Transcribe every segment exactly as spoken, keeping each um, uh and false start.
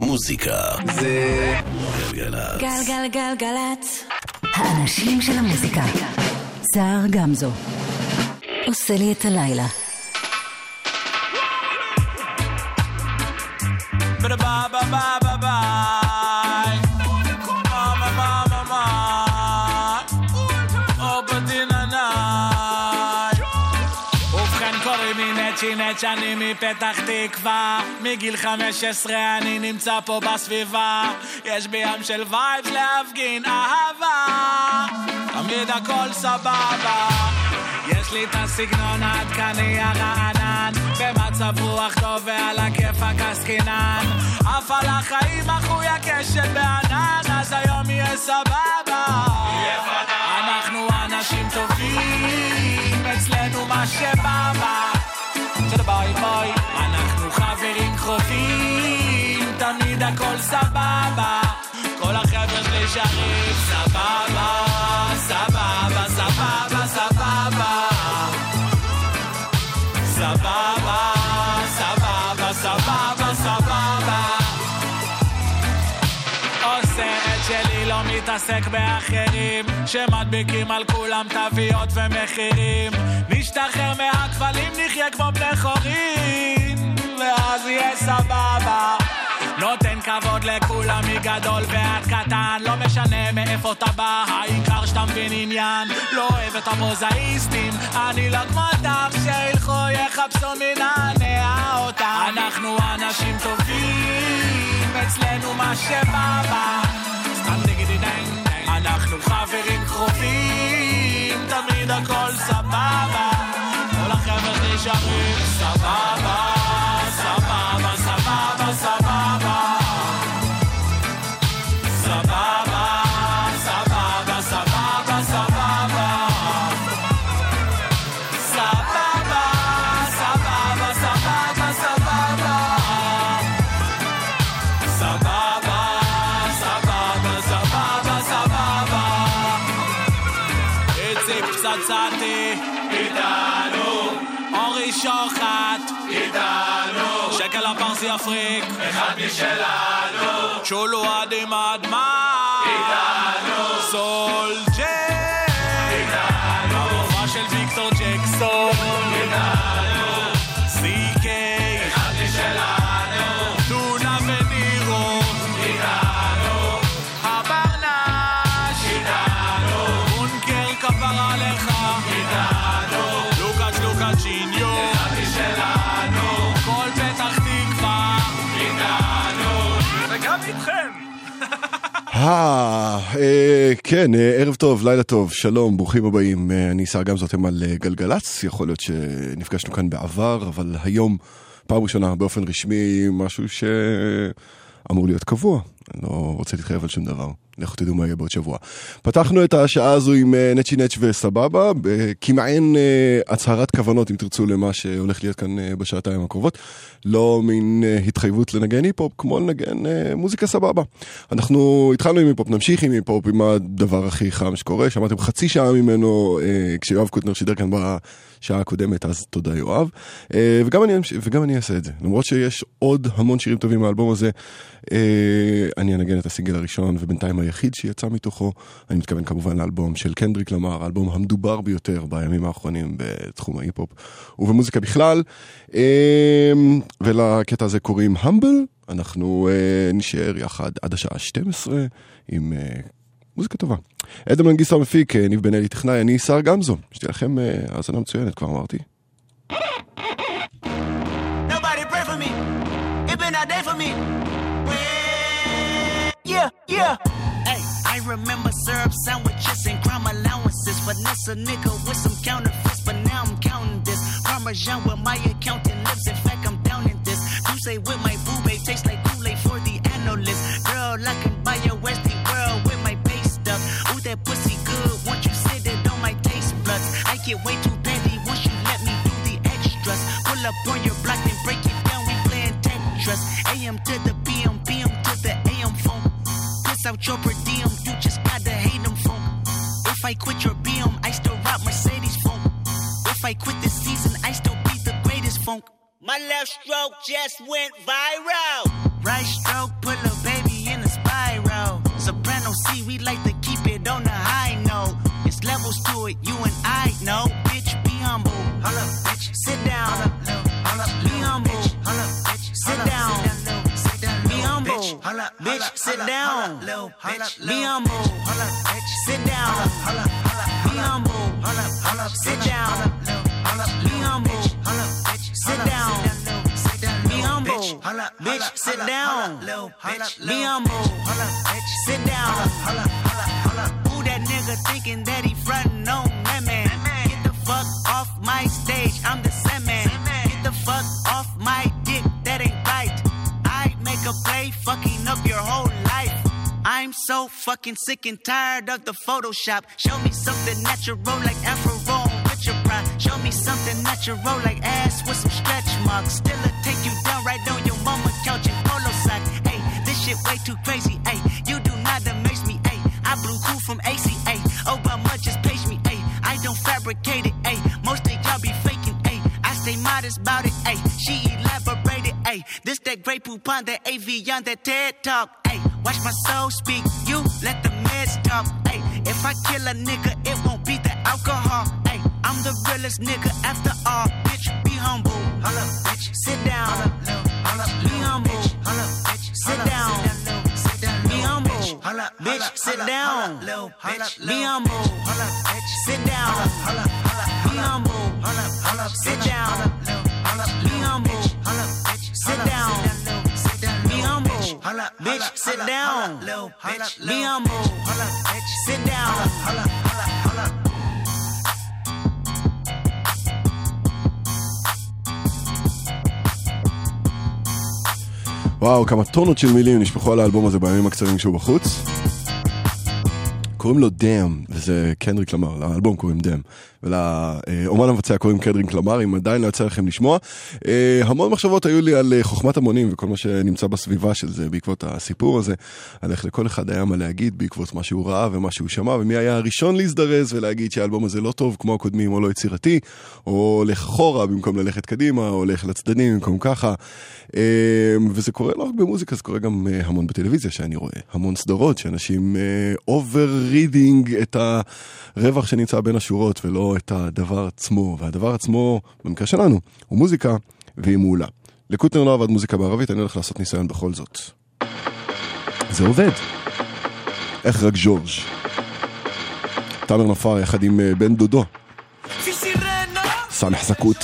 מוזיקה זה גלגלצ. גלגלגלגלצ. האנשים של המוזיקה. סער גמזו עושה לי את הלילה. Ba ba ba ba ba ba. Mama mama mama. ובכן קוראים לי נצ'י נצ' אני מפתח תקווה מגיל חמש עשרה אני נמצא פה בסביבה יש בי ים של וייבס להפגין אהבה תמיד הכל סבבה יש לי את הסגנון העדכני הרענן במצב רוח טוב ועל הכיף הקסקינן אף על החיים אחוי הקשת בענן אז היום יהיה סבבה אנחנו אנשים טובים אצלנו מה שבאבא של ביי ביי אנחנו חברים קרובים תמיד הכל סבבה כל החבר'ה שלי שרים סבבה סבבה סבבה סבבה סבבה סבבה סבבה סבבה עושה את שלי לא מתעסק באחרים שמדביקים על כולם תוויות ומחירים נשתחרר מהכפלים נחיה כמו בני חורים ואז יהיה סבבה נותן כבוד לכולם מגדול ועד קטן לא משנה מאיפה אתה בא העיקר שאתה מבין עניין לא אוהב את המוזאיסטים אני לא כמותם שילכו יחפשו מנענע אותם אנחנו אנשים טובים אצלנו מה שבאבא סתם דגידי דנג אנחנו חברים קרובים תמיד הכל סבבה כל החבר'ה נשארים סבבה סבבה סבבה סבבה סבבה סבבה סבבה סבבה סבבה סבבה סבבה סבבה סבבה סבבה סבבה סבבה איציק פצצתי איתנו אורי שוחט איתנו שקל הפרסי אפריק אחד משלנו צ'ולו עדים אדמה איתנו סולג'ר איתנו הרובע של ויקטור ג'קסון איתנו סי-קיי אחד משלנו טונה ונירו איתנו הברנש איתנו בונקר כפר עליך איתנו לוקאץ' לוקאצ'יניו אחד משלנו כל פתח תקווה איתנו וגם איתכם כן, ערב טוב, לילה טוב, שלום, ברוכים הבאים. אני סער גמזו, אתם על גלגלצ. יכול להיות שנפגשנו כאן בעבר, אבל היום פעם ראשונה באופן רשמי משהו שאמור להיות קבוע. אני לא רוצה להתחייב על שום דבר. לכו תדעו מה יהיה בעוד שבוע. פתחנו את השעה הזו עם נצ'י נצ' וסבבה, כמעין הצהרת כוונות, אם תרצו, למה שהולך להיות כאן בשעתיים הקרובות. לא מין התחייבות לנגן היפופ, כמו לנגן מוזיקה סבבה. אנחנו התחלנו עם היפופ, נמשיך עם היפופ, עם הדבר הכי חם שקורה. שמעתם חצי שעה ממנו, כשיואב קוטנר שידר כאן בשעה הקודמת, אז תודה יואב. וגם אני, וגם אני אעשה את זה. למרות שיש עוד המון שירים טובים מהאלבום הזה, אני אנגן את הסינגל הראשון, ובינתיים היחיד שיצא מתוכו, אני מתכוון כמובן לאלבום של קנדריק למר, האלבום המדובר ביותר בימים האחרונים בתחום ההיפופ ובמוזיקה בכלל, ולקטע הזה קוראים המבל. אנחנו נשאר יחד עד השעה שתים עשרה עם מוזיקה טובה. אדם מנגיסטו המפיק, ניב בן אלי טכנאי, אני סער גמזו. שתהיה לכם האזנה מצוינת, כבר אמרתי. Nobody pray for me. It been a day for me. Yeah, yeah. Hey, I remember syrup sandwiches and crime allowances. Finesse a nigga with some counterfeits, but now I'm counting this. Parmesan with my accountant lips. In fact, I'm down in this. You say with my boo babe tastes like Kool-Aid for the analyst. Girl, I can buy your Westie world with my base stuff. Ooh, that pussy good. Once you sit it on my taste buds, I get way too petty once you let me do the extras. Pull up on your block and break it down. We playing Tetris. A M to the P M, P M to the A M phone. Out your per diem, you just gotta hate them phone. If I quit your B M, I still rock Mercedes phone. If I quit this season, I still be the greatest funk. My left stroke just went viral. Right stroke, pull bitch, sit down. Be humble, sit down. Be humble, sit down. Be humble, sit down. Be humble, bitch, sit down. Be humble, sit down. Who that nigga thinking that he frontin' on that man? Get the fuck off my stage, I'm the Sandman. Get the fuck off my dick, that ain't right. I make a play, fucking up your whole life. I'm so fucking sick and tired of the Photoshop. Show me something natural like Afro with your pride. Show me something natural like ass with some stretch marks. Still a take you down right on your mama couch in polo socks. Hey, this shit way too crazy. Hey, you do not amaze me. Hey, I blew cool from A C A. Obama just page me. Hey, I don't fabricate it. Hey, most of y'all be faking. Hey, I stay modest about it. Hey, she elaborated. Hey, this that great poop on that A V on that TED talk. Hey, watch my soul speak. You let the meds talk. Hey, if I kill a nigga, it won't be the alcohol. Hey, I'm the realest nigga after all. Bitch, be humble. Bitch, sit down. Be humble. Sit down. Be humble. Bitch, sit down. Be humble. Sit down. Be humble. Sit down. Be humble. Sit down. Be humble. Bitch, sit down. Be humble. Sit down. וואו, כמה טונות של מילים נשפכו על האלבום הזה בימים הקצרים שהוא בחוץ. קוראים לו דם, וזה קנדריק למר, לאלבום קוראים דם, ולאומן המבצע קוראים קנדריק למר, אם עדיין לא יצא לכם לשמוע. המון מחשבות היו לי על חוכמת המונים, וכל מה שנמצא בסביבה של זה, בעקבות הסיפור הזה, על איך לכל אחד היה מה להגיד, בעקבות מה שהוא ראה ומה שהוא שמע, ומי היה הראשון להזדרז ולהגיד שהאלבום הזה לא טוב כמו הקודמים, או לא יצירתי, או הולך אחורה במקום ללכת קדימה, או הולך לצדדים במקום ככה. וזה קורה לא רק במוזיקה, זה קורה גם המון בטלוויזיה שאני רואה, המון סדרות שאנשים אובר-רידינג את הרווח שנמצא בין השורות ולא את הדבר עצמו, והדבר עצמו במקרה שלנו הוא מוזיקה והיא מעולה. לקוטנר לא עבד מוזיקה בערבית, אני הולך לעשות ניסיון בכל זאת. זה עובד. איך רק ג'ורג' תאמר נפאר יחד עם בן דודו סמח זקות.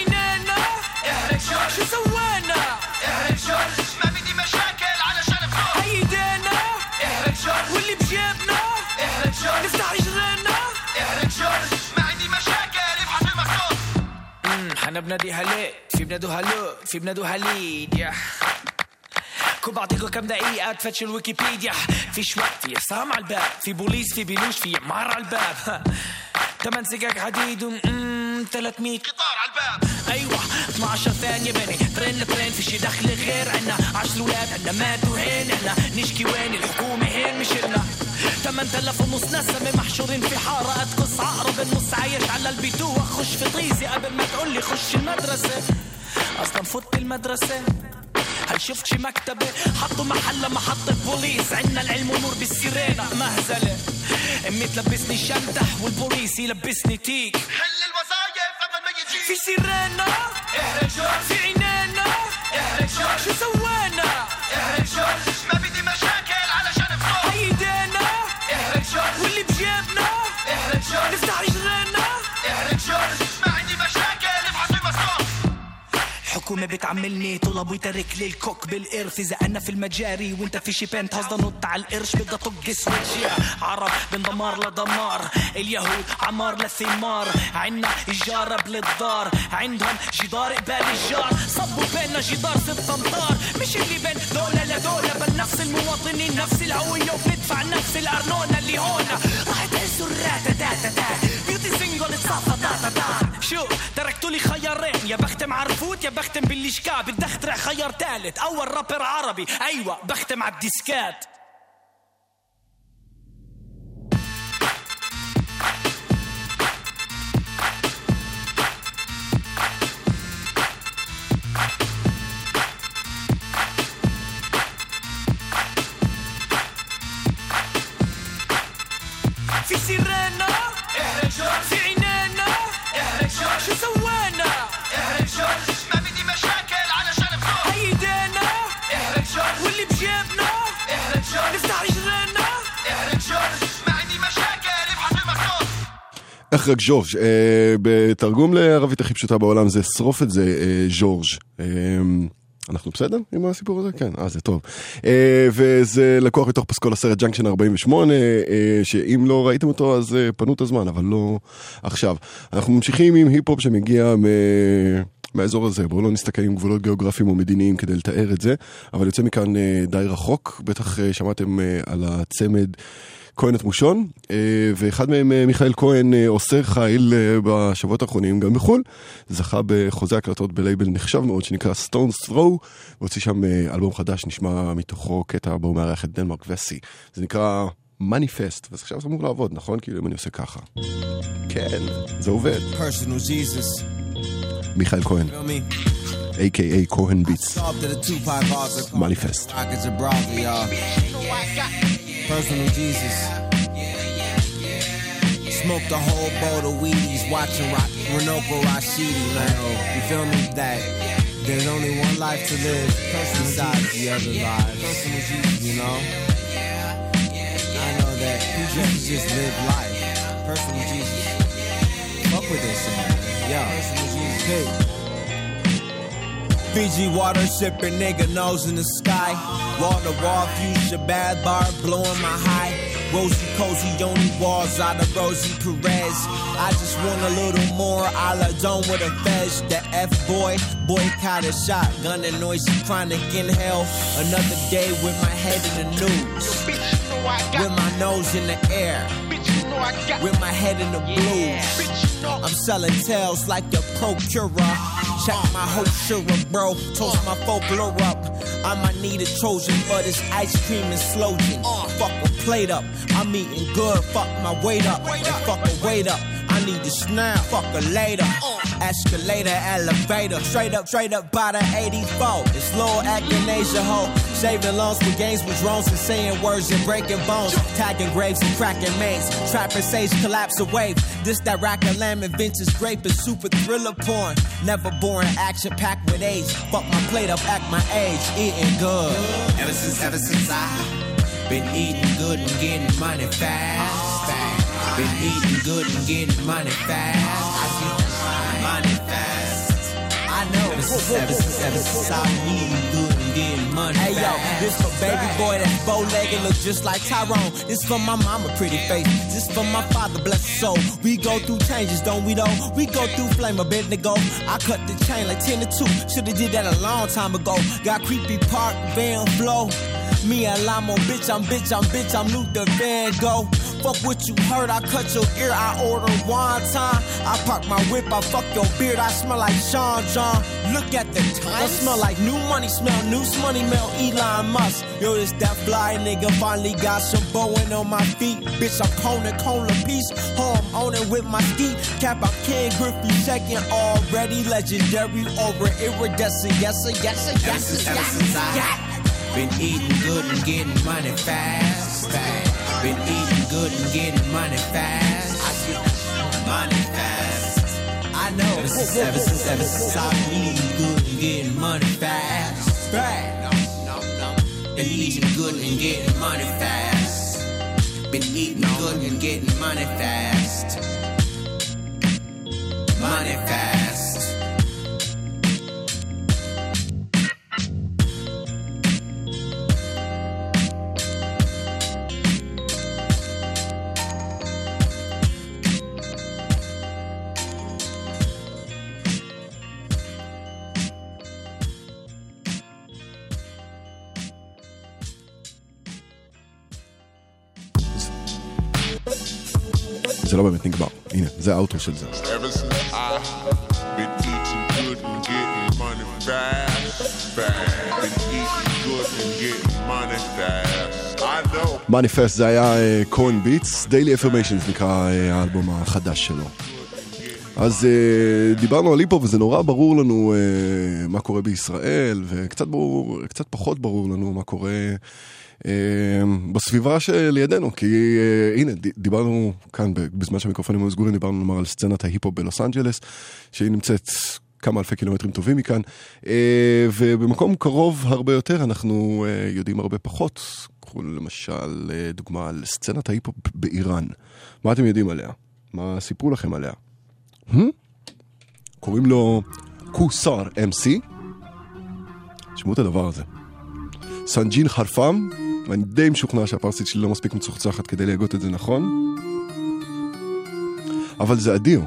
احنا بناديها ليه في بنادوها لو في بنادوها ليد يا كون بعطيكم كم دقيقة تفتشوا الويكيبيديا فيش وقت في عصام على الباب في بوليس في بيلوش في عمار على الباب تمن سجاج حديد ومم ثلاثمية قطار على الباب ايوه اثني عشر ثانية بني ترين لترين فيش دخل غير عنا عشر ولاد عنا ماتوا هين احنا نشكي وين الحكومة هين مش لنا ثمانية آلاف ونص نسمة محشورين في حارة أتقص عقرب النص عايش على البيتوة خش في طيزي قبل ما تقولي خش المدرسة أصلا فوت المدرسة هل شفت شي مكتبة حطوا محلة محطة بوليس عنا العلم ونور بالسيرينا مهزلة أمي تلبسني شمدح والبوليس يلبسني تيك حل الوظايف قبل ما يجي في سيرينا احرق جورج في عينينا احرق جورج شو سوانا احرق جورج ما بدي مشاكل علشان فلوس ايدينا احرق جورج واللي بجيبنا احرق جورج نفتح رجلنا احرق جورج ما عندي مشاكل ابحث المصروف الحكومة بتعملني طلب ويترك لي الكوك بالقرف إذا أنا في المجاري وانت في شي بنت هصدا نط على القرش بدها طق سويتش عرب من دمار لدمار اليهود عمار لثمار عنا الجارة للدار عندهم جدار قبال الجار صبوا بيننا جدار ست امتار مش اللي بين دولة لدولة بل نفس المواطنين نفس الهوية وبندفع نفس الأرنونة اللي هونا راح تهزوا الراتا تاتا تا بيوتي سينجل اتصافى تاتا تا شو تركتوا لي خيارين يا بختم عرفوت يا بختم بالليشكا بدي اخترع خيار ثالث اول رابر عربي ايوه بختم على الديسكات في سيرنا احرق جورج في عينينا احرق جورج شو سوانا احرق جورج ما بدي مشاكل علشان فلوس ايدينا احرق جورج واللي بجيبنا נפתח לי שרנה איך רק ז'ורג', אה, בתרגום לערבית הכי פשוטה בעולם זה שרוף את זה אה, ז'ורג'. אה, אנחנו בסדר עם הסיפור הזה? כן, אה, זה טוב. אה, וזה לקוח מתוך פסקול הסרט ג'אנקשן ארבעים ושמונה, אה, שאם לא ראיתם אותו אז אה, פנו את הזמן, אבל לא עכשיו. אנחנו ממשיכים עם היפ-הופ שמגיע מ... מהאזור הזה, בואו לא נסתכל עם גבולות גיאוגרפיים או מדיניים כדי לתאר את זה, אבל יוצא מכאן אה, די רחוק, בטח אה, שמעתם אה, על הצמד כהן את מושון, ואחד מהם, מיכאל כהן, עושה חיל בשבועות האחרונים, גם בחול, זכה בחוזה הקלטות בלייבל נחשב מאוד, שנקרא Stone's Throw, והוציא שם אלבום חדש, נשמע מתוכו קטע בו מארח את דנמרק וסי. זה נקרא מניפסט, וזה עכשיו זה אמור לעבוד, נכון? כאילו אם אני עושה ככה. כן, זה עובד. מיכאל כהן, איי קיי איי כהן ביטס. מניפסט. Personal Jesus. Smoked a whole bowl of weedies, watching Rock, Renoko Rashidi, man. You feel me? That there's only one life to live besides the other lives. You know? I know that people just live life. Personal Jesus. Fuck with this, man. Yo. Personal Jesus. Hey. Fiji water sipping, nigga nose in the sky. Wall to wall, fuchsia bad bar, blowing my high. Rosy cozy, only walls out of Rosie Perez. I just want a little more, a la Dome with a fez. The F-boy, boycott a shotgun and noisy chronic in hell. Another day with my head in the news. With my nose in the air. With my head in the blues. I'm selling tales like the procurer. Check my whole sugar, bro. Toast my folklore up. I might need a Trojan, but it's ice cream and Slogan. Uh, fuck a plate up. I'm eating good. Fuck my weight up. And fuck a weight up. I need this now. Fuck her later. Uh, escalator, elevator. Straight up, straight up by the eighty-four. It's Lord Echinacea ho. Saving loans with games with drones and saying words and breaking bones. Tagging graves and cracking mains. Trapping sage, collapse a wave. This that rack of lamb and vintage grape is super thriller porn. Never boring, action packed with age. Fuck my plate up, act my age. Eating good. Ever since, ever since I been eating good and getting money fast. fast. Been eating good and getting money fast. I see money fast. I know. Ever since, ever since, ever since I been eating good and getting money fast. Hey yo, this for baby boy that's bow-legged, look just like Tyrone. This for my mama, pretty face. This for my father, bless his soul. We go through changes, don't we though? We go through flame, a bit to go. I cut the chain like ten to two. Shoulda did that a long time ago. Got creepy park, Van Flow. Me and Lamo, bitch, I'm bitch, I'm bitch, I'm Luther Van Gogh. Fuck what you heard, I cut your ear, I order one time. I park my whip, I fuck your beard, I smell like Sean John. Look at the time, I smell like new money, smell new money, smell Elon Musk. Yo, this that fly nigga finally got some bowing on my feet. Bitch, I'm Conan, Cola piece, home owning with my ski. Cap, I'm Ken Griffey, second already, legendary, over iridescent, yes sir, yes sir, yes sir, yes sir, yes sir. Been eating good and getting money fast, fast. Been eating good and getting money fast. I get money fast. I know. Ever since, ever since, ever since I've been eating good and getting money fast, fast. No, no, no. Been eating good and getting money fast. Been eating good and getting money fast. Money fast. זה לא באמת נגמר, הנה, זה האוטו של זה. מניפסט זה היה כהן ביטס, Daily Affirmations נקרא האלבום החדש שלו. אז דיברנו על היפ-הופ וזה נורא ברור לנו מה קורה בישראל, וקצת ברור, קצת פחות ברור לנו מה קורה בסביבה שלידינו, כי הנה, דיברנו כאן בזמן שהמיקרופונים היו סגורים, דיברנו נאמר על סצנת ההיפ-הופ בלוס אנג'לס, שהיא נמצאת כמה אלפי קילומטרים טובים מכאן, ובמקום קרוב הרבה יותר אנחנו יודעים הרבה פחות. קחו למשל דוגמה על סצנת ההיפ-הופ באיראן. מה אתם יודעים עליה? מה סיפרו לכם עליה? קוראים לו קוסר אם סי. תשמעו את הדבר הזה. סנג'ין חרפם, ואני די משוכנע שהפרסית שלי לא מספיק מצוחצחת כדי להגות את זה נכון. אבל זה אדיר.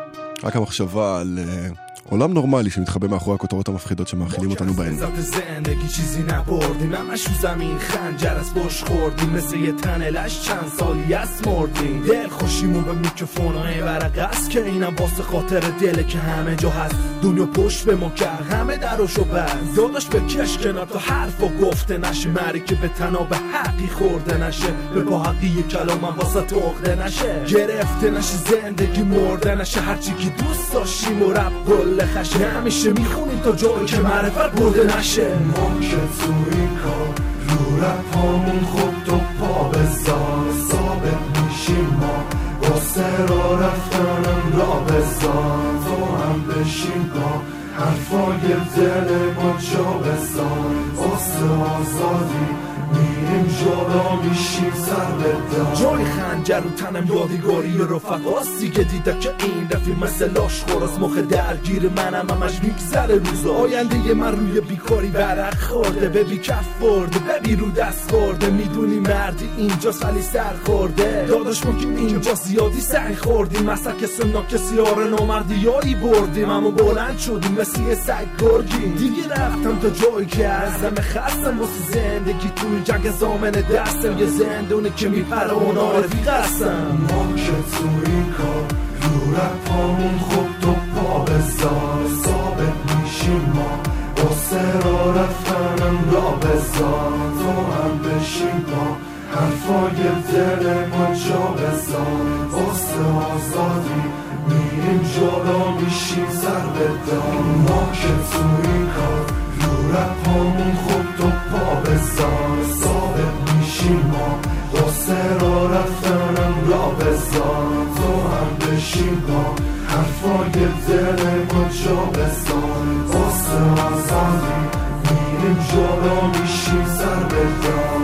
רק המחשבה על עולם נורמלי שמתחבא מאחורי הכותרות המפחידות שמאכילים אותנו בהן. زندگی چیزی نبردیم همش رو زمین خنجر از پشت خوردیم مثل یه تنلش چند سالی است مردیم دل خوشیمون به میکروفونای ورقه که اینم واسه خاطر دله که همه جا هست دنیا پشت به ما کرد همه دراشو بست داداش بکش کنار تا حرفا گفته نشه مری که به تنها به حقی خورده نشه به با حقی کلامم واسه تخته نشه گرفته نشه زندگی مرده نشه هرچی که دوست داشتیم و رب گل خشه همیشه میخونیم تا جایی که معرفت برده نشه ما که تو این کار رو رپامون خود تو پا بذار ثابت میشیم ما واسه را رفتنم را بذار تو هم بشین با حرفای دل ما جا بذار واسه آزادی میریم جالا میشیم سر بدار جای خنجر رو تنم یادگاری رفقاستی که دیده که این رفیق مثل لاش خورست مخ درگیر منم همش میگذره روزا آینده من روی بیکاری برق خورده ببی کف برده ببی رو دست خورده میدونی مردی اینجا سالی سر خورده داداش ما که اینجا زیادی سعی خوردیم مثلا که سنا کسی آره نامردی هایی بردیم اما بلند شدیم مثل یه سگ گرگیم دیگه رفتم تا جایی که ازم خستم واسه زندگی توی جنگ زامن دستم یه زندونی که میپره اونا رفیق هستم ما که تو این کار رو رپامون خود تو پا بذار ثابت میشیم ما واسه را رفتنم را بذار تو هم بشین با حرفای دل ما جا بذار واسه آزادی میریم جالا میشیم سر بدار ما که تو این کار رو رپامون خود تو پا بذار ثابت میشیم ما واسه را رفتنم را بذار تو هم بشین با حرفای دل ما جا بذار واسه آزادی میریم جالا میشیم سر بدار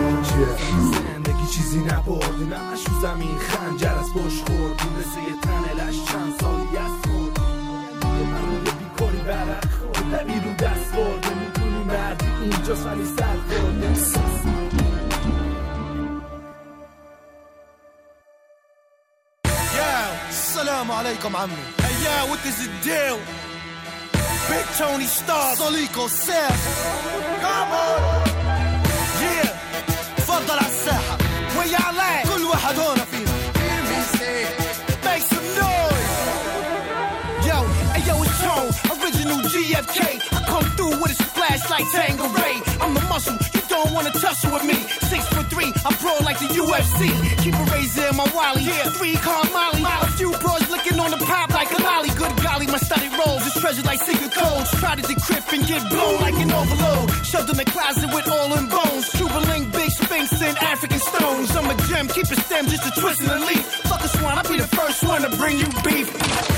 زندگی چیزی نبردیم همش رو زمین خنجر از پشت خوردیم مثل یه تنلش چند سالی است مردیم من روی بیکاری برق خورده بی رو دست برده میدونی مردی اینجا سالی سر خورده السلام عليكم عمي hey yeah what is the deal Big Tony Starr صليكو ساف come on yeah تفضل على الساحة ويا عليك كل واحد هون فينا make some noise yo hey yo it's Tone original G F K I come through with a splash like Tangeray I'm the muscle you don't wanna tussle with me six foot three I pro like the U F C keep a razor in my wally yeah three car Molly a few bros licking on the pop like a lolly good golly my study rolls is treasure like secret codes try to decrypt and get blown like an overload shoved in the closet with all in bones Cuban link big sphinx and African stones I'm a gem keep it stem just a twist in the leaf fuck a swan I'll be the first one to bring you beef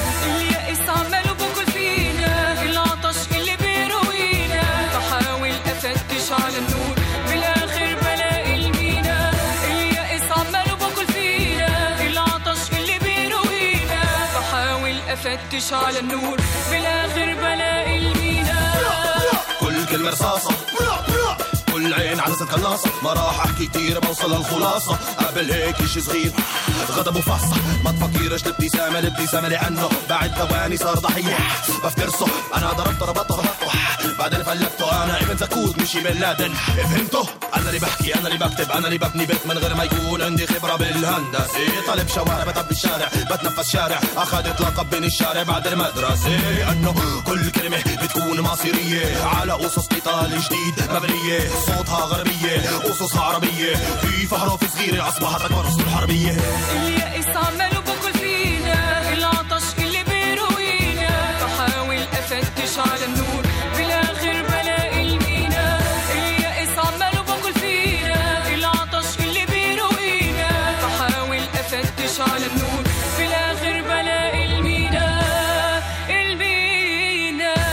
على النور بالاخر بلاقي المينا اليائس عمال باكل فينا العطش اللي بيروينا بحاول افتش على النور بالاخر بلاقي المينا كل كلمة رصاصة كل عين عدسة قناصة ما راح احكي كتير بوصل للخلاصة قبل هيك شي صغير غضب وفصة ما تفكرش الابتسامة الابتسامة لأنه بعد ثواني صار ضحية بفترسه أنا ضربته ربطته ربطته بعدين فلكته أنا ابن زكوت مشي بن لادن فهمته أنا اللي بحكي أنا اللي بكتب أنا اللي ببني بيت من غير ما يكون عندي خبرة بالهندسة طالب شوارع بتعب الشارع بتنفس شارع أخذت لقب بين الشارع بعد المدرسة لأنه كل كلمة بتكون مصيرية على قصص قتال جديد مبنية صوتها غربية قصصها عربية في فحرف صغيرة أصبحت أكبر أسطول حربية اليائس عمال باكل فينا العطش اللي بيروينا بحاول أفتش على النور بالاخر بلاقي المينا اليائس عمال باكل فينا العطش اللي بيروينا بحاول أفتش على النور بالاخر بلاقي المينا المينا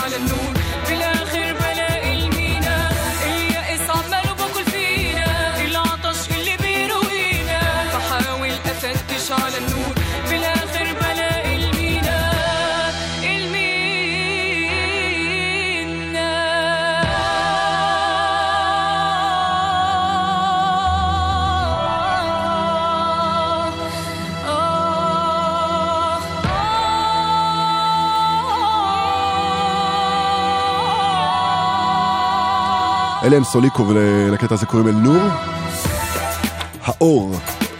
على النور بالاخر بلاقي المينا اليائس عماله باكل فينا العطش اللي بيروينا بحاول افتش على النور بالاخر بلاقي المينا אלה הם סוליקו, ולקטע הזה קוראים אל נור האור.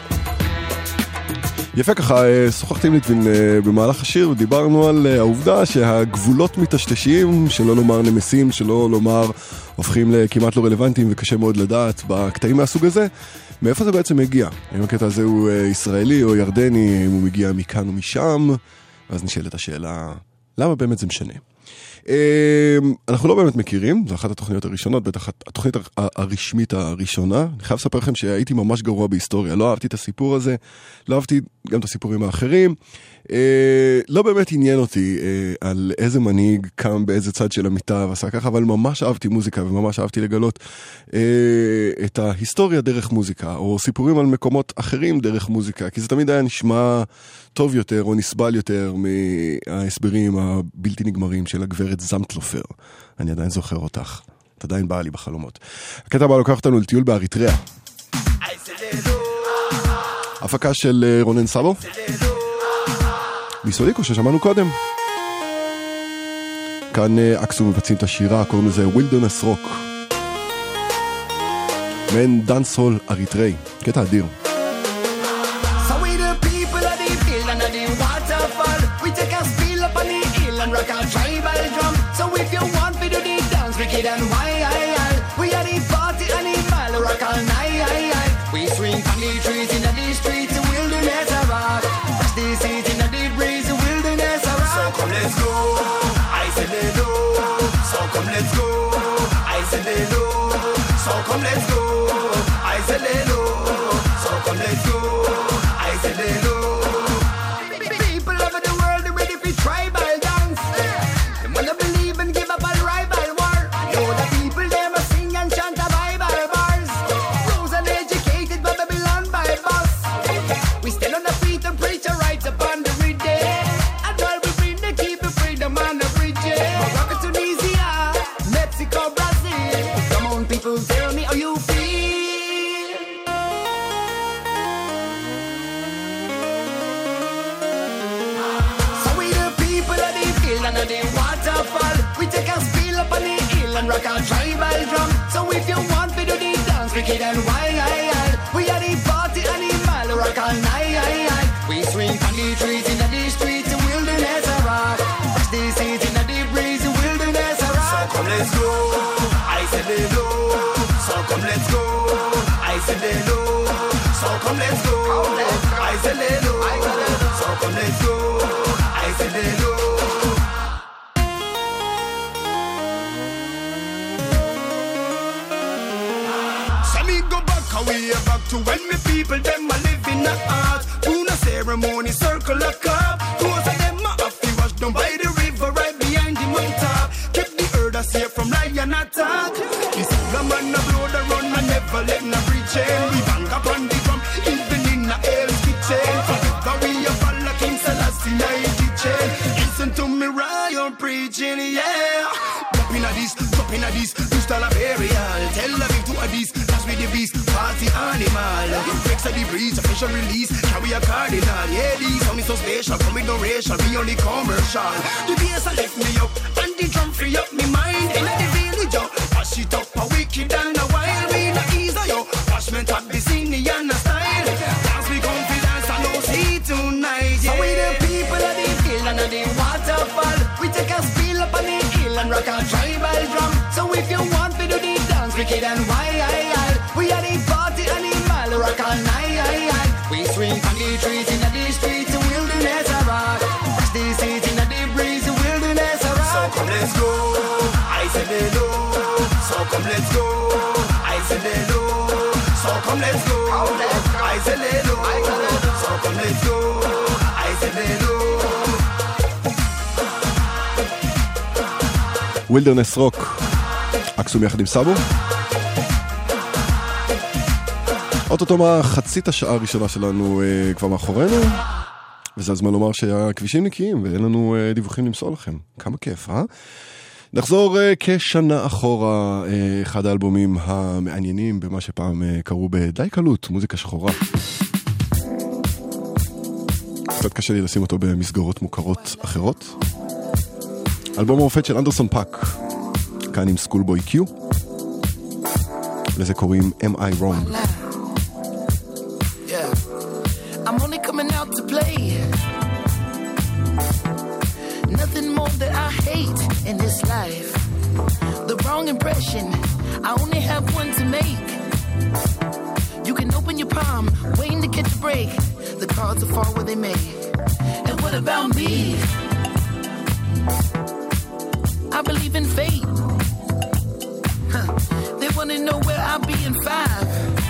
יפה, ככה שוחחתי עם ליטווין במהלך השיר ודיברנו על העובדה שהגבולות מתשתשים, שלא לומר נמסים, שלא לומר הופכים לכמעט לא רלוונטיים, וקשה מאוד לדעת בקטעים מהסוג הזה מאיפה זה בעצם מגיע, אם הקטע הזה הוא ישראלי או ירדני, אם הוא מגיע מכאן או משם. אז נשאלת השאלה, למה באמת זה משנה? אנחנו לא באמת מכירים, זו אחת התוכניות הראשונות, בטח התוכנית הרשמית הראשונה. אני חייב לספר לכם שהייתי ממש גרוע בהיסטוריה, לא אהבתי את הסיפור הזה, לא אהבתי גם את הסיפורים האחרים, לא באמת עניין אותי על איזה מנהיג קם באיזה צד של המיטה ועשה ככה, אבל ממש אהבתי מוזיקה וממש אהבתי לגלות את ההיסטוריה דרך מוזיקה, או סיפורים על מקומות אחרים דרך מוזיקה, כי זה תמיד היה נשמע טוב יותר או נסבל יותר מההסברים הבלתי נגמרים של הגברת זמטלופר. אני עדיין זוכר אותך, את עדיין באה לי בחלומות. הקטע הבא לוקח אותנו לטיול באריתריאה, הפקה של רונן סבו מסוליקו ששמענו קודם. כאן אקסו מבצעים את השירה, קוראים לזה וילדרנס רוק, מעין דאנס-הול אריתראי, קטע אדיר. Rock our tribal drum. So if you want to do the dance, wicked and wild, we are the party animal. Rock all night. We swing from the trees in the streets, the wilderness of rock. Brush the seeds in the breeze, the wilderness of rock. So come let's go, I said let's go. So come let's go, I said let's go. So come let's go, I said let's go. So come let's go, I said let's go. People over the world are ready for tribal. Rock our tribal drum. So if you want to do the dance, wicked and wild, we are the party animal. Rock all night. We swing from the trees in the streets, the wilderness of rock. Brush the seeds in the breeze, the wilderness of rock. So come let's go, I said hello. So come let's go, I said hello. So come let's go, I said hello. So come let's go, I said hello. Way back to when me people them a live in the art. Do no ceremony, circle a cup. Those of them a have to wash down by the river right behind the mountain. Keep the herders safe from lion attack. This the man a blow the run and never let no breach in. We bang up on the drum, even in the hell's kitchen. Forever we a follow King Selassie I teaching. Listen to me royal preaching, yeah. Drop in a this, drop in a this, do style a burial. Tell the big to a this. With the beast, party animal. Flex of the breeze, official release. Carry a cardinal. Yeah, these on me so spatial. Come with no racial, be only commercial. The bass a lift me up, and the drum free up me mind. In the village, yo, wash it up a wicked and a wild. We no easy, yo. Washment at the scene and a style. Dance with confidence, I know see tonight. Yeah. So we the people of the hill and of the waterfall. We take a spill up on the hill and rock our tribal drum. So if you want to do the dance, wicked and wild. We are the party animal, rock all night. We swing from the trees in the streets, the wilderness of rock. Brush the seeds in the breeze, the wilderness of rock. So come let's go, I said hello. So come let's go, I said hello. So come let's go, I said hello. So come let's go, I said hello. וילדרנס רוק, אקסום יחד עם סאבו. אוטוטו מחצית השעה הראשונה שלנו uh, כבר מאחורינו, וזה הזמן לומר שהכבישים נקיים ואין לנו uh, דיווחים למסור לכם. כמה כיף, אה? נחזור uh, כשנה אחורה, uh, אחד האלבומים המעניינים במה שפעם uh, קראו בדי קלות, מוזיקה שחורה. קצת קשה לי לשים אותו במסגרות מוכרות אחרות. אלבום המופת של אנדרסון פאק, כאן עם סקולבוי קיו, לזה קוראים Am I Wrong? I'm only coming out to play. Nothing more that I hate in this life. The wrong impression, I only have one to make. You can open your palm, waiting to catch a break. The cards will fall where they may. And what about me? I believe in fate. Huh. They wanna know where I'll be in five.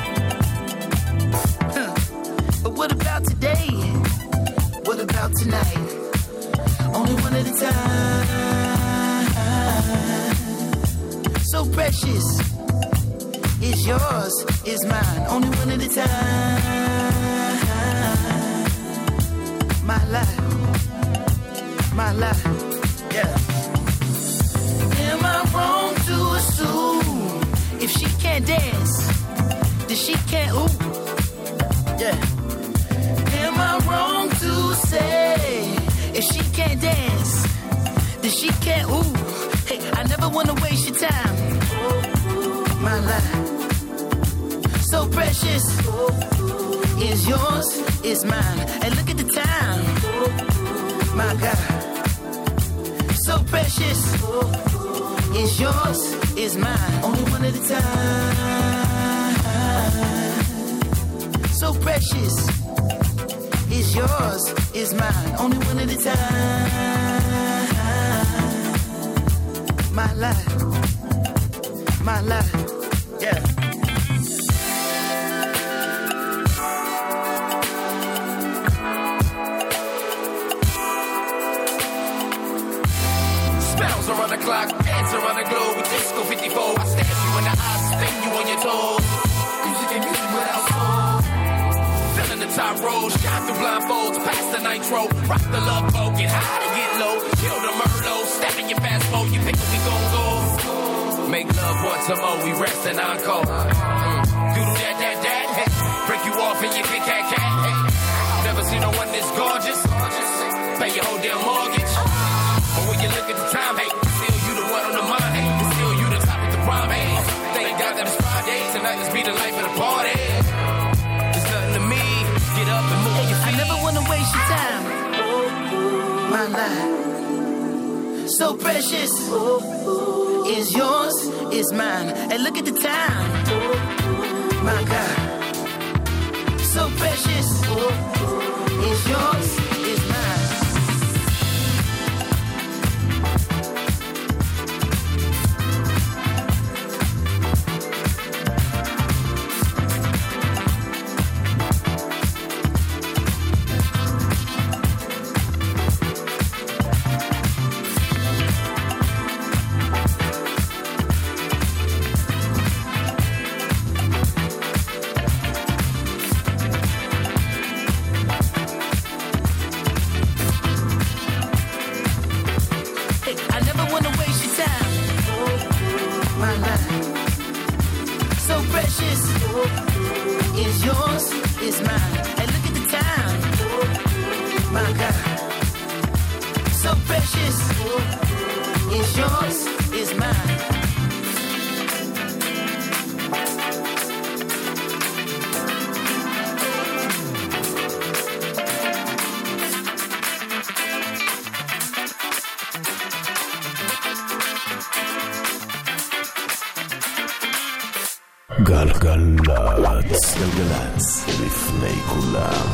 Huh. But what about today? What about tonight? Only one at a time. So precious. Is yours, is mine. Only one at a time. My life. My life. Yeah. Am I wrong to assume if she can't dance, then she can't ooh? Yeah. Am I wrong to say if she can't dance, then she can't ooh? Hey, I never wanna waste your time. My life, so precious, is yours, is mine. And look at the time, my God, so precious, is yours, is mine. Only one at a time. So precious, is yours, is mine. Only one at a time. My life, my life, yeah. Spells around the clock, dance around the globe with Disco fifty-four. I stab you in the eyes, spin you on your toes. Music and music without soul. Filling the top rows, shine through blindfolds, past the nitro. Rock the love boat, get high and get low. Kill the Merlot, step in your fast mode. You pick up, we gon' go. Make love once a more, we rest and encore. Mm. Doodle that, that, that, hey. Break you off and you kick cat, cat, hey. Never seen no one this gorgeous. Pay your whole damn mortgage. But when you look at the time, hey, still you the one on the mind, hey. Still you the top of the prime, hey. Thank God that it's Friday, tonight let's be the life of the party. There's nothing to me, get up and move your feet. I never wanna waste your time. My life, so precious, is yours, is mine. And look at the time, my God, so precious, is yours, is mine. גלגלצ, גלגלצ, לפני כולם.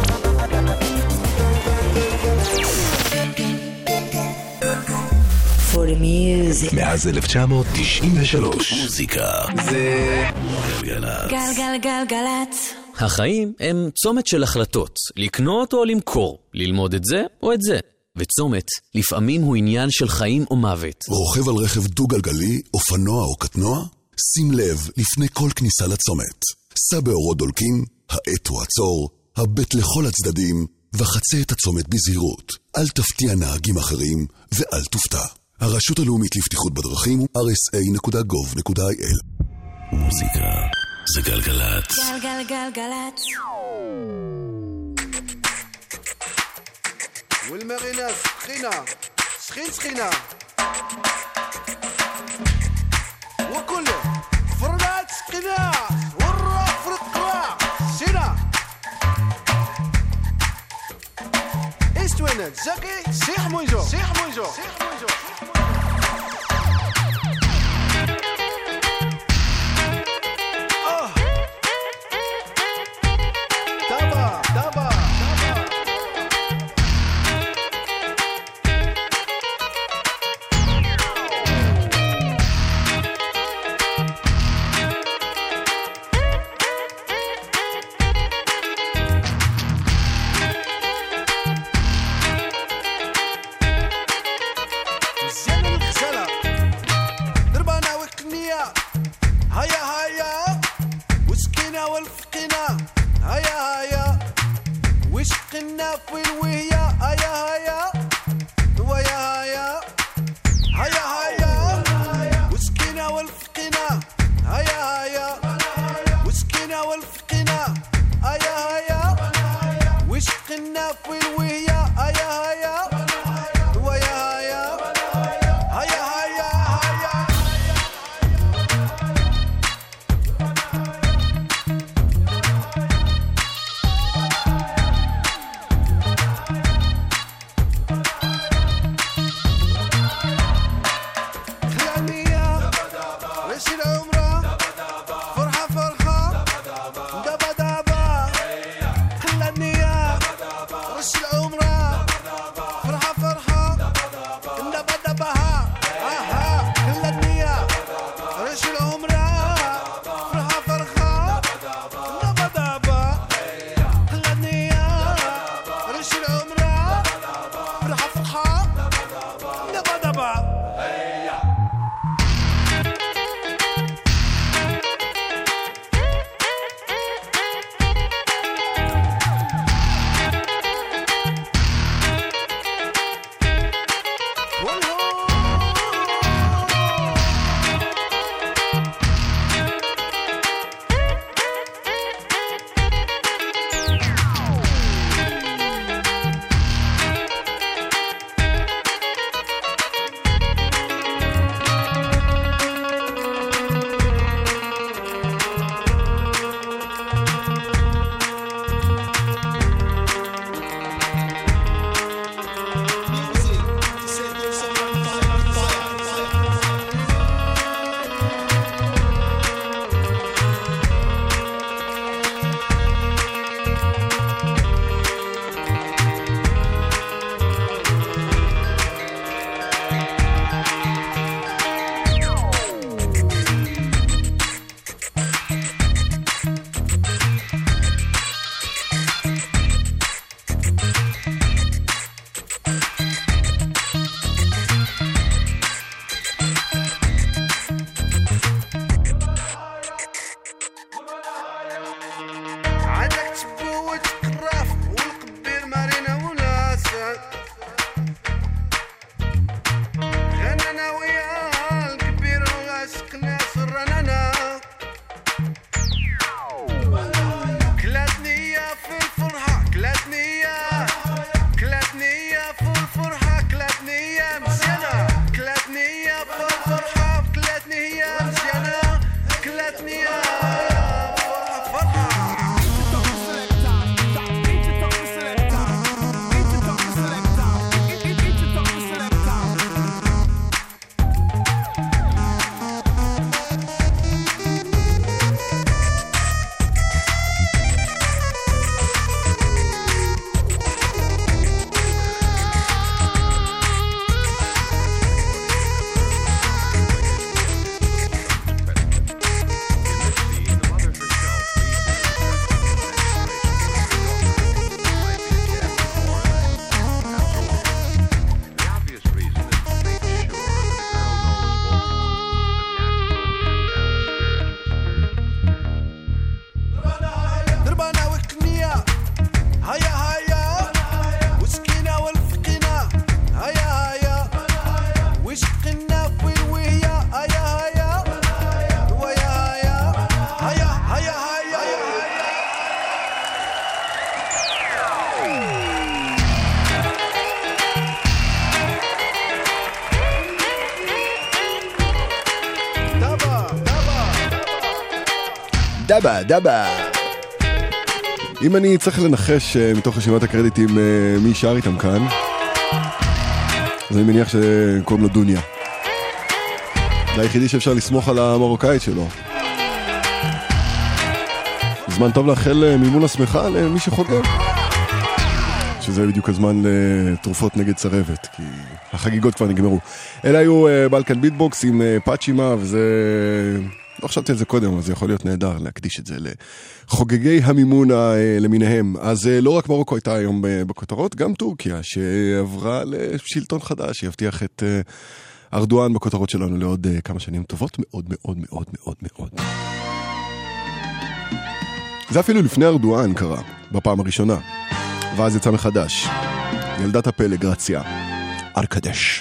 For the music. מאז אלף תשע מאות תשעים ושלוש. מוזיקה זה גלגלצ. גלגלגלגלצ. החיים הם צומת של החלטות, לקנות או למכור, ללמוד את זה או את זה. וצומת לפעמים הוא עניין של חיים או מוות. רוכב על רכב דו-גלגלי, אופנוע או קטנוע? שים לב לפני כל כניסה לצומת. סע באורות דולקים, האט הוא עצור, הבט לכל הצדדים, וחצה את הצומת בזהירות. אל תפתיע נהגים אחרים ואל תופתע. הרשות הלאומית לבטיחות בדרכים הוא אר אס איי נקודה גוב נקודה איי אל. מוזיקה זה גלגלת. גלגלגלגלת. والمغنى سخينة سخين سخينة وكله فرنات سخينة والروح فرق قراع سينا استوينت زكي سيح مويجو سيح مويجو سيح مويجو דבה, דבה. אם אני צריך לנחש מתוך רשימת הקרדיטים מי שר איתם כאן, אז אני מניח שקוראים לו דוניה. זה היחידי שאפשר לסמוך על המרוקאית שלו. זמן טוב לאחל מימון השמחה למי שחוגג, שזה בדיוק הזמן לתרופות נגד צרבת, כי החגיגות כבר נגמרו. אלה היו בלקן ביטבוקס עם פאצ'ימה, וזה... לא חשבתי על זה קודם, אבל זה יכול להיות נהדר להקדיש את זה לחוגגי המימון למיניהם. אז לא רק מרוקו הייתה היום בכותרות, גם טורקיה, שעברה לשלטון חדש, שיבטיח את ארדואן בכותרות שלנו לעוד כמה שנים טובות מאוד מאוד מאוד מאוד מאוד. זה אפילו לפני ארדואן קרה, בפעם הראשונה. ואז יצא מחדש. ילדת הפלא, גרציה. ארקדש.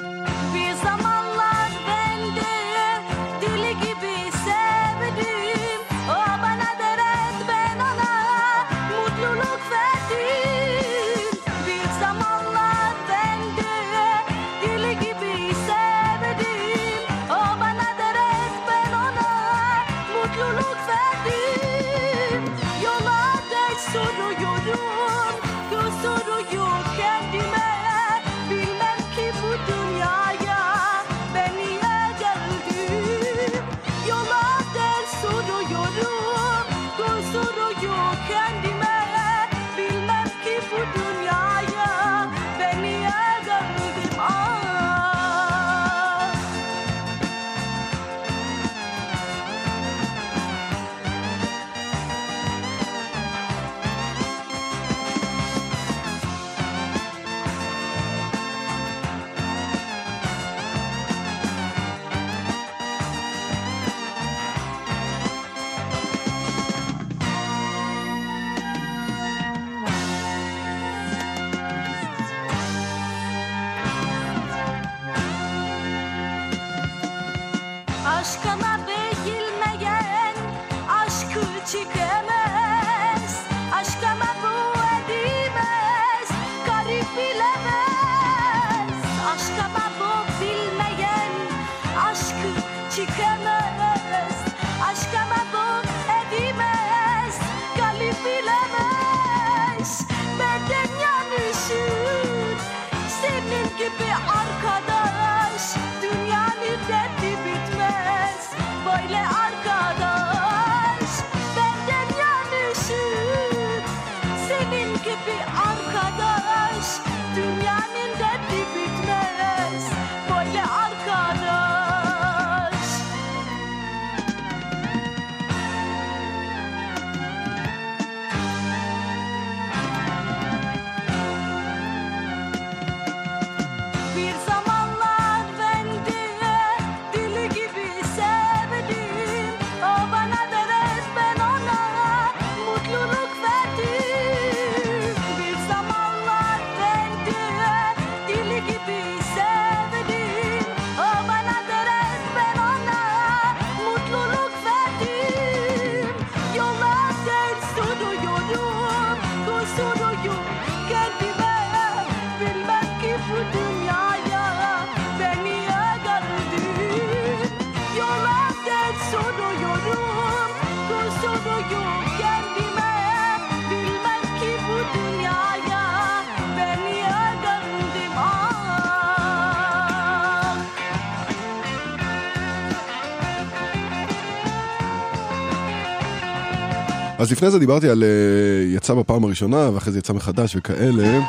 אז לפני זה דיברתי על יצא בפעם הראשונה, ואחרי זה יצא מחדש וכאלה,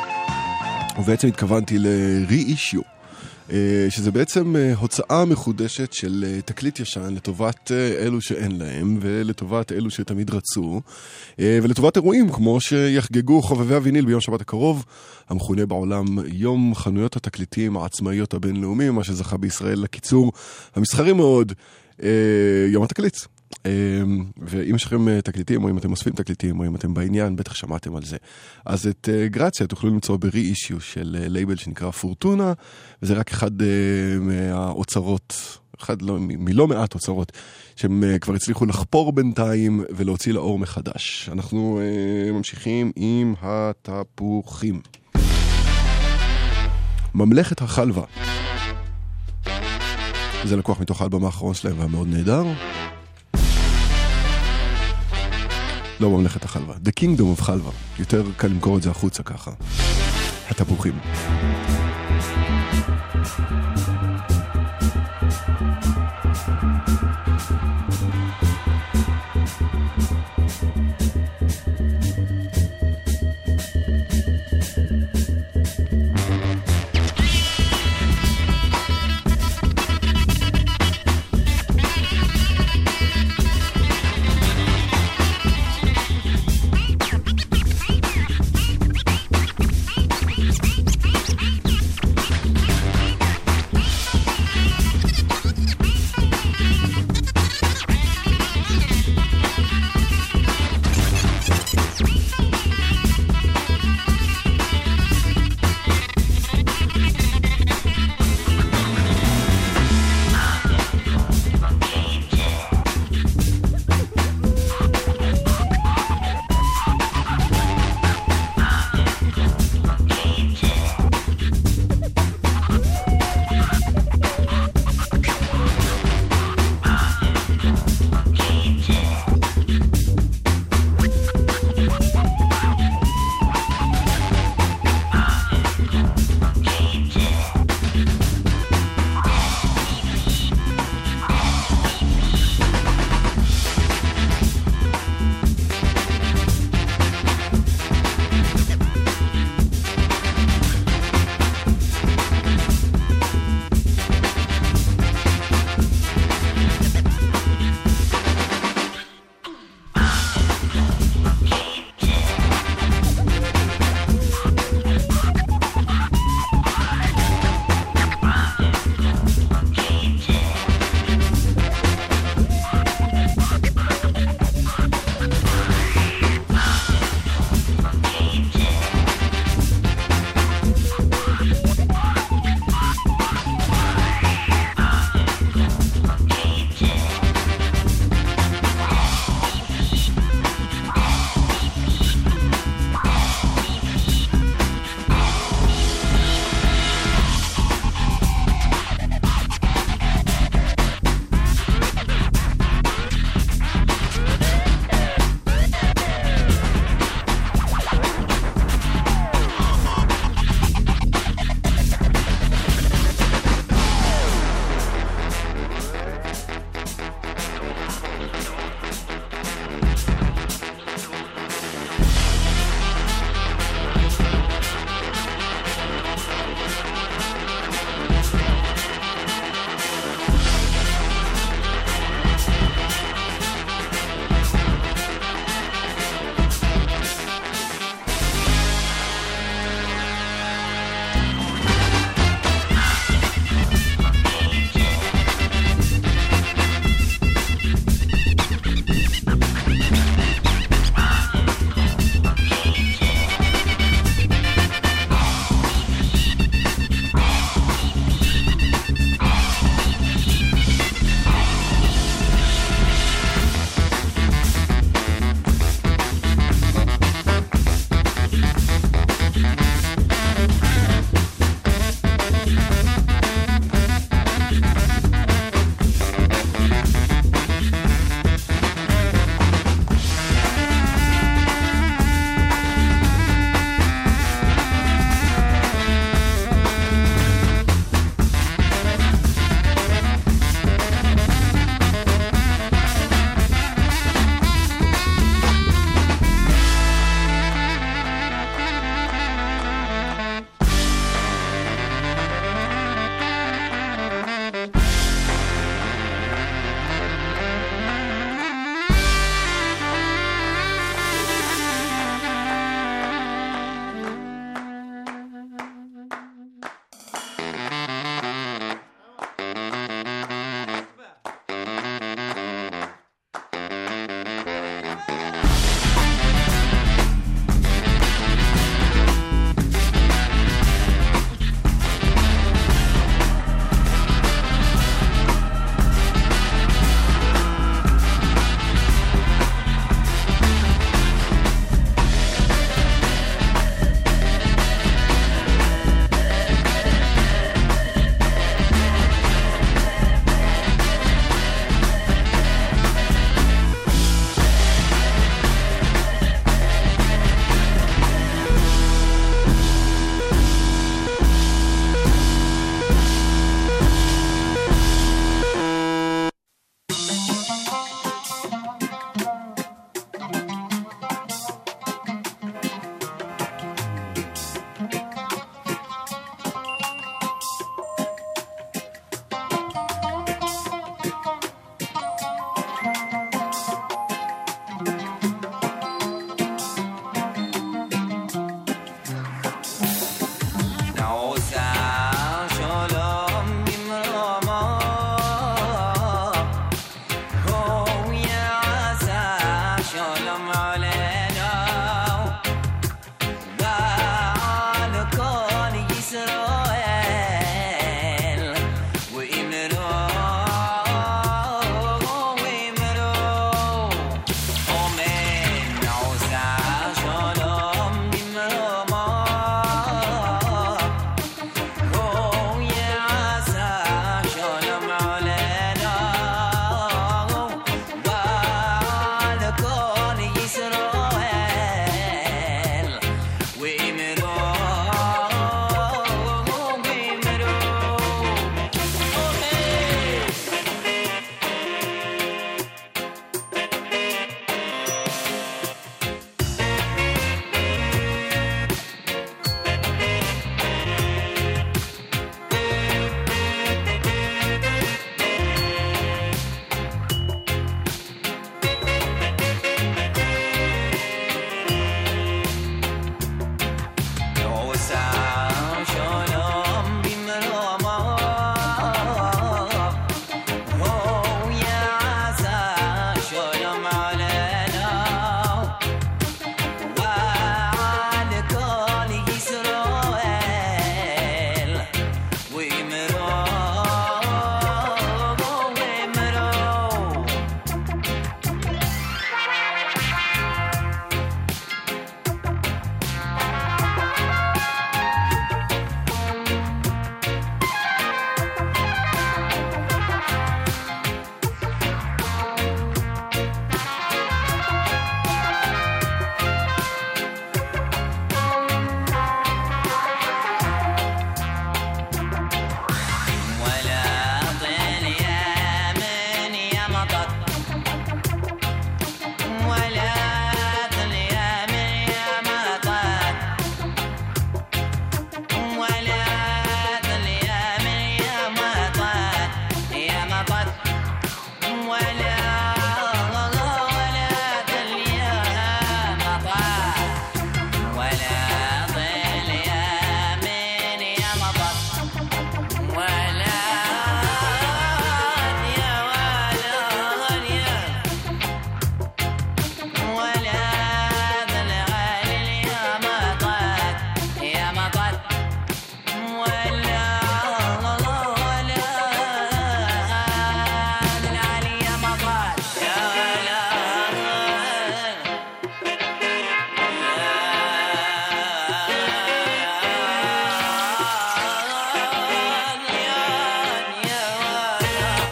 ובעצם התכוונתי ל-re-issue, שזה בעצם הוצאה מחודשת של תקליט ישן לטובת אלו שאין להם, ולטובת אלו שתמיד רצו, ולטובת אירועים כמו שיחגגו חובבי הוויניל ביום שבת הקרוב, המכונה בעולם יום חנויות התקליטים העצמאיות הבינלאומיים, מה שזכה בישראל לקיצור המסחרי מאוד, יום התקליט. ואם יש לכם תקליטים, או אם אתם אוספים תקליטים, או אם אתם בעניין, בטח שמעתם על זה. אז את גרציה תוכלו למצוא ב-re-issue של לייבל שנקרא פורטונה, וזה רק אחד מהאוצרות, אחד לא, מלא מעט אוצרות, שהם כבר הצליחו לחפור בינתיים ולהוציא לאור מחדש. אנחנו ממשיכים עם התפוחים. ממלכת החלבה. זה לקוח מתוך האלבום האחרון שלהם והמאוד נהדר. לא ממלכת החלבה. The Kingdom of חלבה. יותר קל למכור את זה החוצה ככה. התפוחים.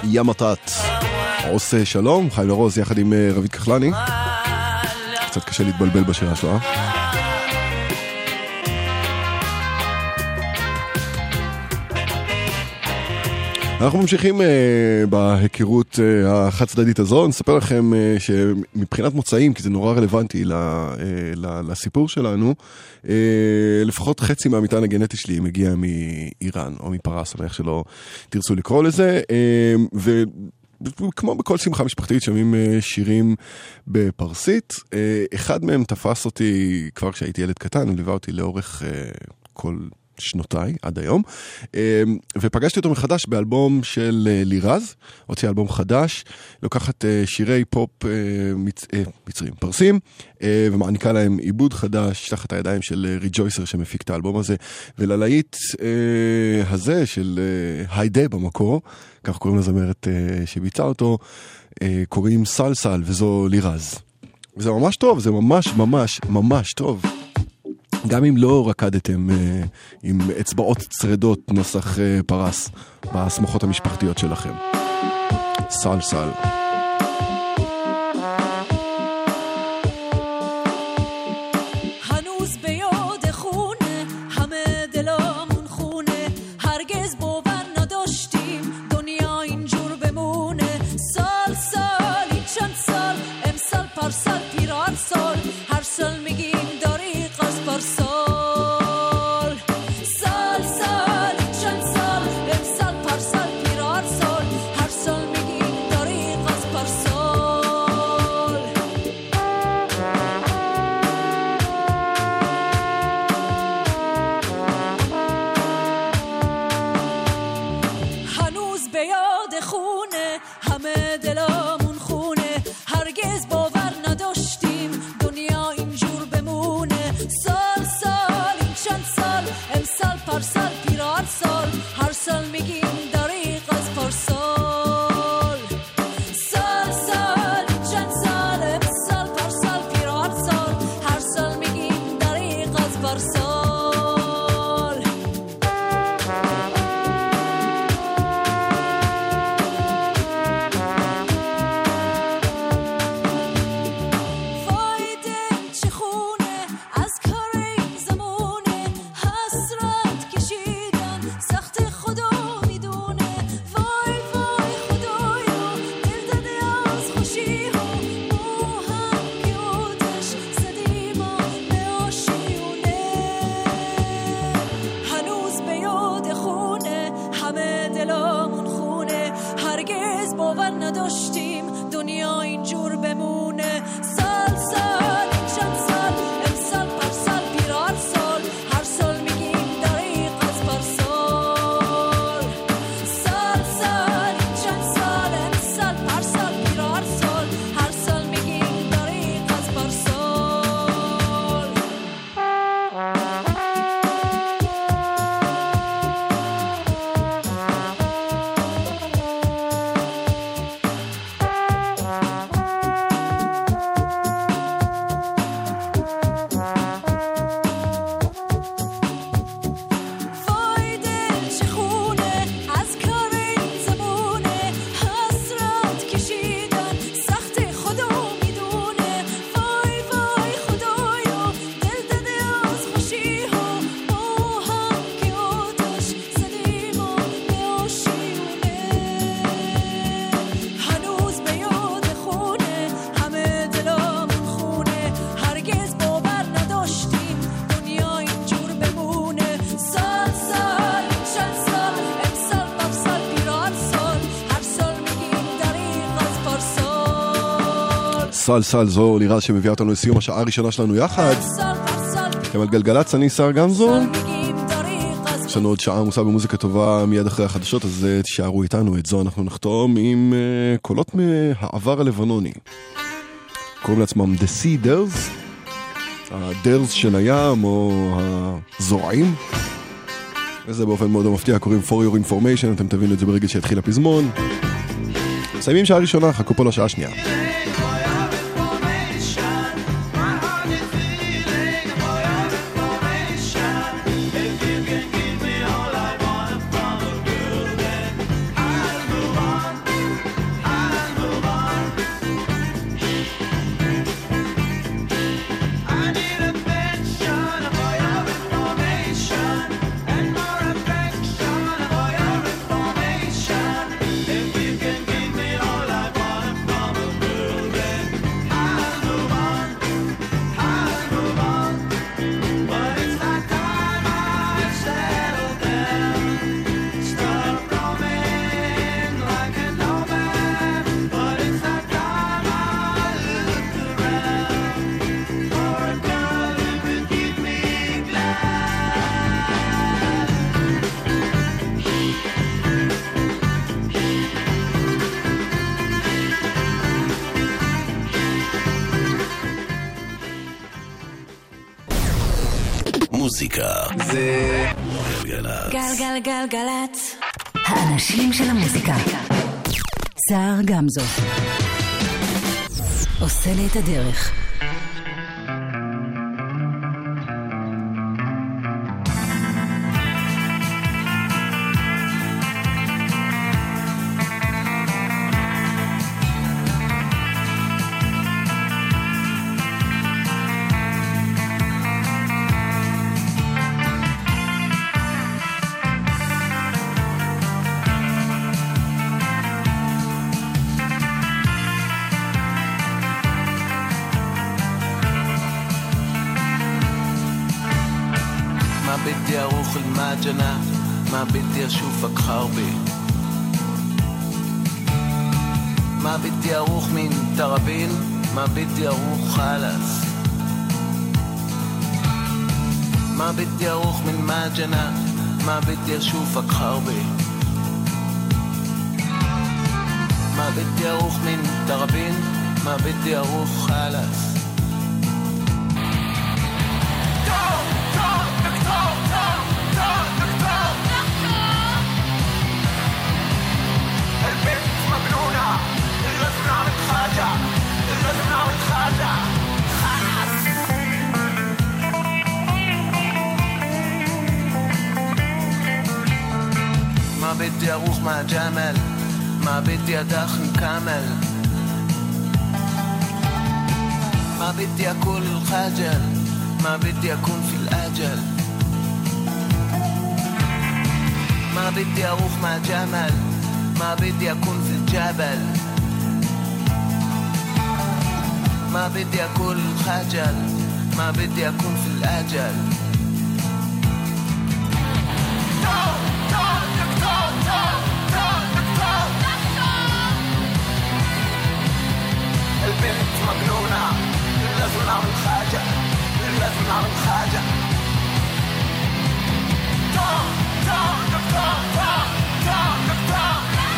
ימתת. עושה שלום, חיים לרוז יחד עם רבית כחלני. קצת קשה להתבלבל בשעה שלו, אה? אנחנו ממשיכים uh, בהיכרות uh, החד צדדית הזו. נספר לכם uh, שמבחינת מוצאים, כי זה נורא רלוונטי ל, uh, ל, לסיפור שלנו, uh, לפחות חצי מהמטען הגנטי שלי מגיע מאיראן או מפרס, או איך שלא תרצו לקרוא לזה, uh, ו... כמו בכל שמחה משפחתית שומעים שירים בפרסית. אחד מהם תפס אותי כבר כשהייתי ילד קטן, הוא ליווה אותי לאורך כל שנותיי עד היום, ופגשתי אותו מחדש באלבום של לירז, הוציא אלבום חדש, לוקחת שירי פופ מצ... מצרים פרסים, ומעניקה להם עיבוד חדש תחת הידיים של ריג'ויסר שמפיק את האלבום הזה, וללהיט הזה של היידה במקור, כך קוראים לזמרת שביצעה אותו, קוראים סל סל, וזו לירז. וזה ממש טוב, זה ממש ממש ממש טוב. גם אם לא רקדתם אה, עם אצבעות צרדות נוסח אה, פרס בסמוכות המשפחתיות שלכם. סל סל. סל סל, זו לירז שמביאה אותנו לסיום השעה הראשונה שלנו יחד. אתם על גלגלץ, אני שר גמזו. יש לנו עוד שעה עמוסה במוזיקה טובה מיד אחרי החדשות, אז תשארו איתנו. את זו אנחנו נחתום עם uh, קולות מהעבר הלבנוני. קוראים לעצמם The Sea Ders, הדרס של הים או הזורעים. וזה באופן מאוד מפתיע, קוראים For Your Information, אתם תבינו את זה ברגע שהתחיל הפזמון. מסיימים שעה ראשונה, חכו פה לשעה שנייה. מוזיקה זה גלגלצ. גלגלגלגלצ. האנשים של המוזיקה. סער גמזו עושה לי את הדרך. بدي اروح المعجنة ما بدي اشوفك خربي ما بدي اروح من ترابين ما بدي اروح خالص ما بدي اروح من معجنة ما بدي اشوفك خربي ما بدي اروح من ترابين ما بدي اروح خالص ما بدي اروح مع جمل ما بدي ادخن كامل ما بدي اكل الخجل ما بدي اكون في الاجل ما بدي اروح مع جمل ما بدي اكون في الجبل ما بدي اكل الخجل ما بدي اكون في الاجل البنت مجنونة لازم نعمل حاجة لازم نعمل حاجة دكتور دكتور دكتور دكتور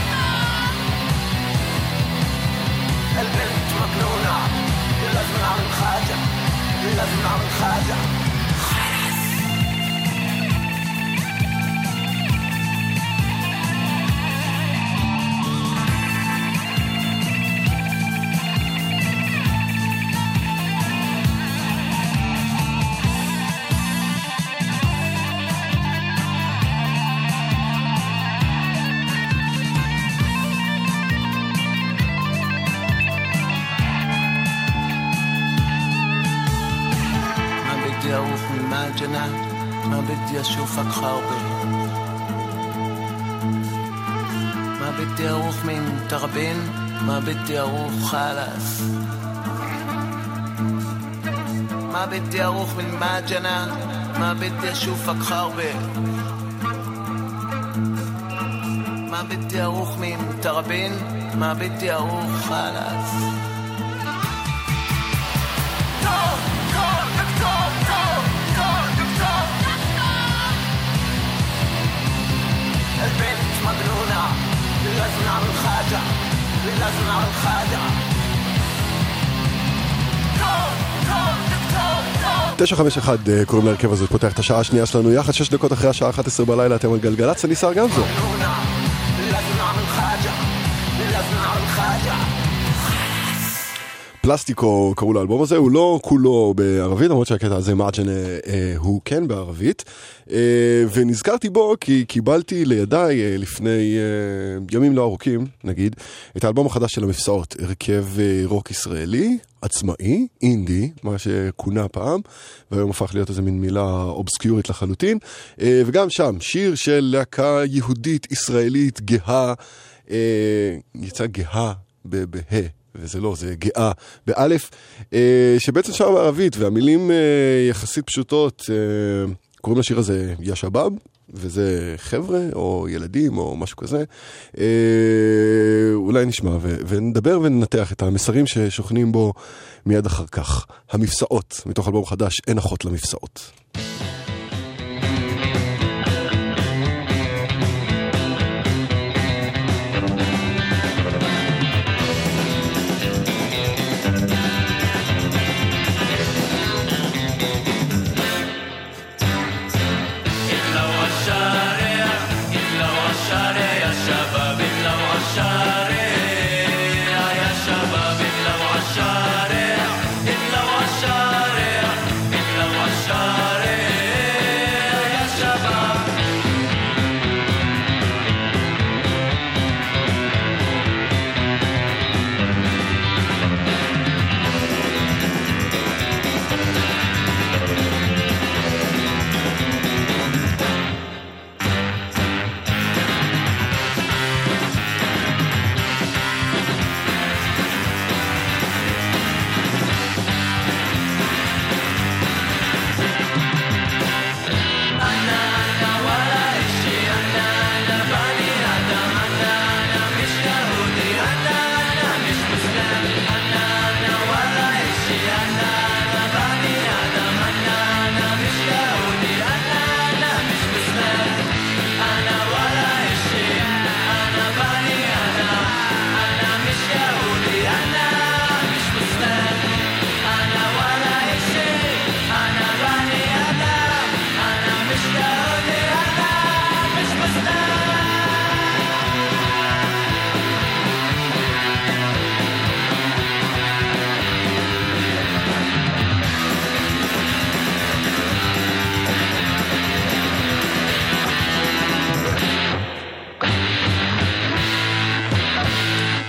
البنت مجنونة لازم نعمل حاجة لازم نعمل حاجة ما بدي أشوفك خربي ما بدي أروح من تربين ما بدي أروح خالص ما بدي أروح من معجنة ما بدي أشوفك خربي ما بدي أروح من تربين ما بدي أروح خالص البنت مجنونة لازم نعمل حاجة لازم نعمل حاجة תשע חמש אחד קוראים להרכב הזה, פותח את השעה השנייה שלנו יחד, שש דקות אחרי השעה אחת עשרה בלילה, אתם על גלגלצ, אני סער גמזו. פלסטיקו קראו לאלבום הזה, הוא לא כולו בערבית, למרות שהקטע הזה מאג'ן הוא כן בערבית, ונזכרתי בו כי קיבלתי לידיי לפני ימים לא ארוכים, נגיד, את האלבום החדש של המפסעות, הרכב רוק ישראלי, עצמאי, אינדי, מה שכונה פעם, והיום הפך להיות איזה מין מילה אובסקיורית לחלוטין, וגם שם, שיר של להקה יהודית ישראלית גאה, יצא גאה בה, וזה לא, זה גאה באלף, שבעצם שר בערבית, והמילים יחסית פשוטות, קוראים לשיר הזה ישבב, וזה חבר'ה או ילדים או משהו כזה. אולי נשמע ונדבר וננתח את המסרים ששוכנים בו מיד אחר כך. המפסעות, מתוך אלבום חדש, אין אחות למפסעות.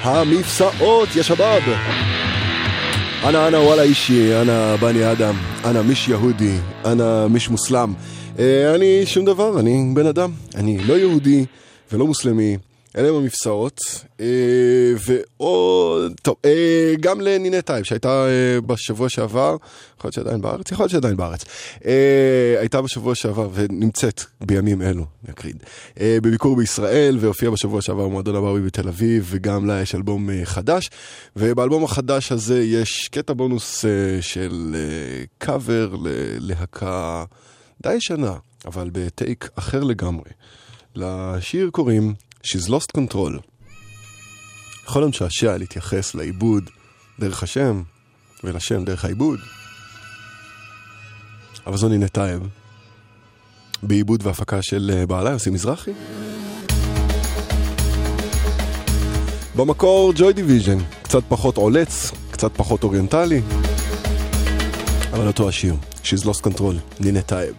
המפסעות, יא שבאב. אנה אנה וואלה אישי, אנה בני אדם, אנה מיש יהודי, אנה מיש מוסלם. אה, אני שום דבר, אני בן אדם. אני לא יהודי ולא מוסלמי. אלה הם המפסעות. אה, ועוד, טוב, אה, גם לנינה טייב, שהייתה אה, בשבוע שעבר, יכול להיות שעדיין בארץ, יכול להיות שעדיין בארץ. אה, הייתה בשבוע שעבר ונמצאת בימים אלו, נקריד, אה, בביקור בישראל, והופיעה בשבוע שעבר במועדון הברבי בתל אביב, וגם לה יש אלבום אה, חדש. ובאלבום החדש הזה יש קטע בונוס אה, של אה, קאבר ללהקה די ישנה, אבל בטייק אחר לגמרי. לשיר קוראים She's Lost Control. יכול המשעשע להתייחס לעיבוד דרך השם, ולשם דרך העיבוד. אבל זו נינה טייב, בעיבוד והפקה של בעלה יוסי מזרחי. במקור ג'וי דיוויז'ן, קצת פחות עולץ, קצת פחות אוריינטלי, אבל אותו השיר, She's Lost Control, נינה טייב.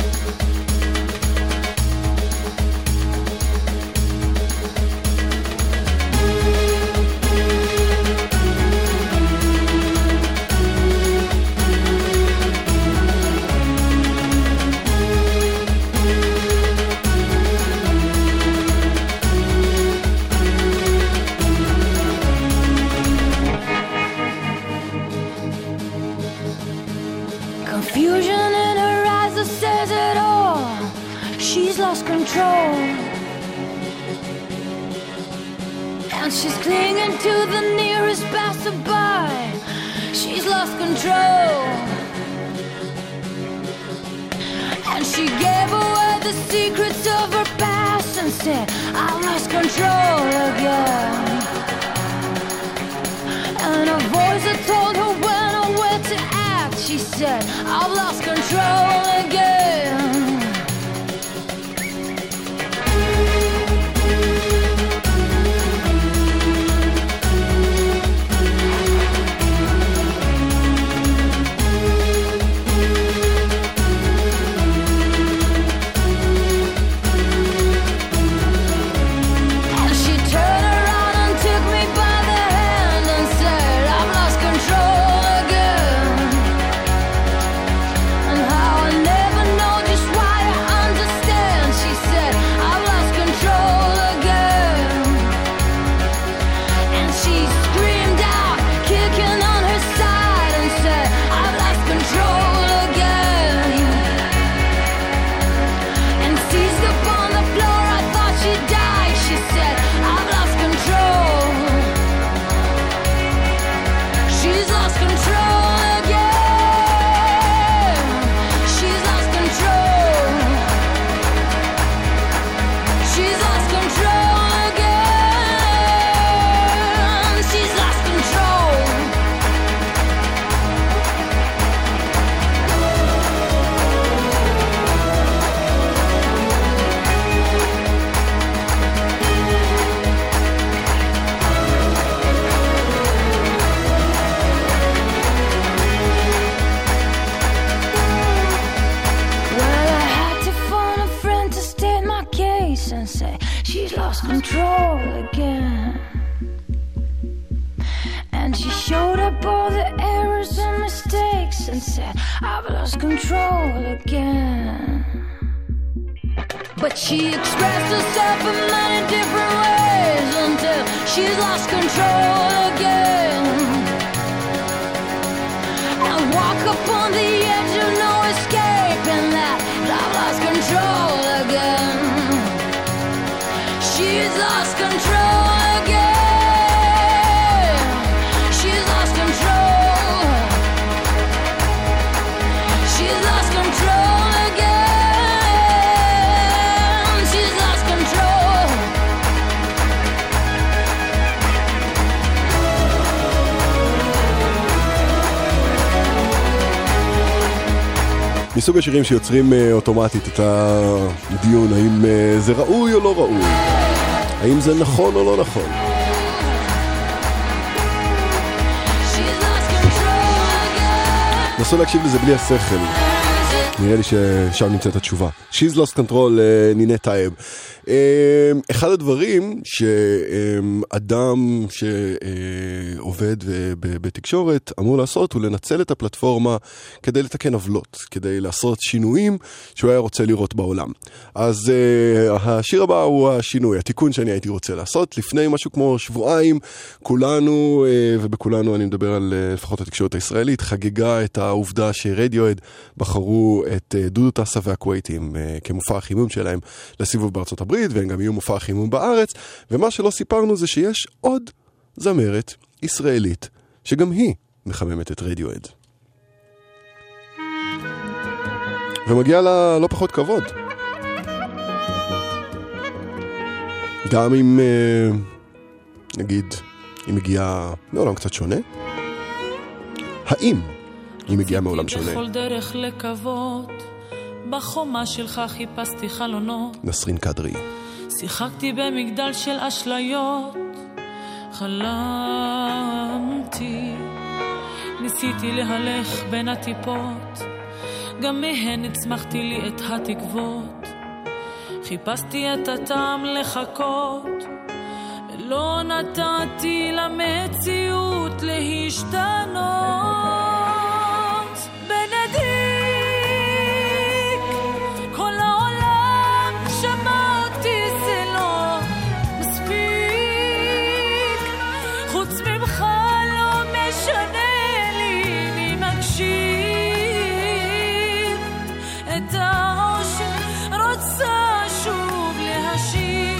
Control, and she's clinging to the nearest passerby. She's lost control, and she gave away the secrets of her past and said, I've lost control again. And a voice that told her when or where to act, she said, I've lost control again. Control again, and she showed up all the errors and mistakes and said, I've lost control again. But she expressed herself in many different ways until she's lost control again, and walk upon the edge of no escape, and that I've lost control again. She's lost control again. She's lost control. She's lost control again. She's lost control. מסוג השירים שיוצרים אוטומטית את הדיון, האם זה ראוי או לא ראוי? האם זה נכון או לא נכון? נסו להקשיב לזה בלי השכל. נראה לי ששם נמצאת התשובה. She's Lost Control, נינה טייב. אחד הדברים שאדם שעובד בתקשורת אמור לעשות הוא לנצל את הפלטפורמה כדי לתקן עוולות, כדי לעשות שינויים שהוא היה רוצה לראות בעולם. אז השיר הבא הוא השינוי, התיקון שאני הייתי רוצה לעשות. לפני משהו כמו שבועיים, כולנו, ובכולנו אני מדבר על לפחות התקשורת הישראלית, חגגה את העובדה שרדיואד בחרו את דודו טסה והקווייטים כמופע החימום שלהם לסיבוב בארצות הברית, והם גם יהיו מופע החימום בארץ, ומה שלא סיפרנו זה שיש עוד זמרת ישראלית שגם היא מחממת את רדיואד. ומגיע לה לא פחות כבוד. גם אם נגיד היא מגיעה מעולם קצת שונה, האם היא מגיעה מעולם שונה? בכל דרך לקוות, בחומה שלך חיפשתי חלונות, נסרין קדרי. שיחקתי במגדל של אשליות, חלמתי, ניסיתי להלך בין הטיפות, גם מהן הצמחתי לי את התקוות, חיפשתי את הטעם לחכות, ולא נתתי למציאות להשתנות. בנדיק כל העולם שמע אותי, זה לא מספיק, חוץ ממך לא משנה לי מי מקשיב, את האושר רוצה שוב להשיב.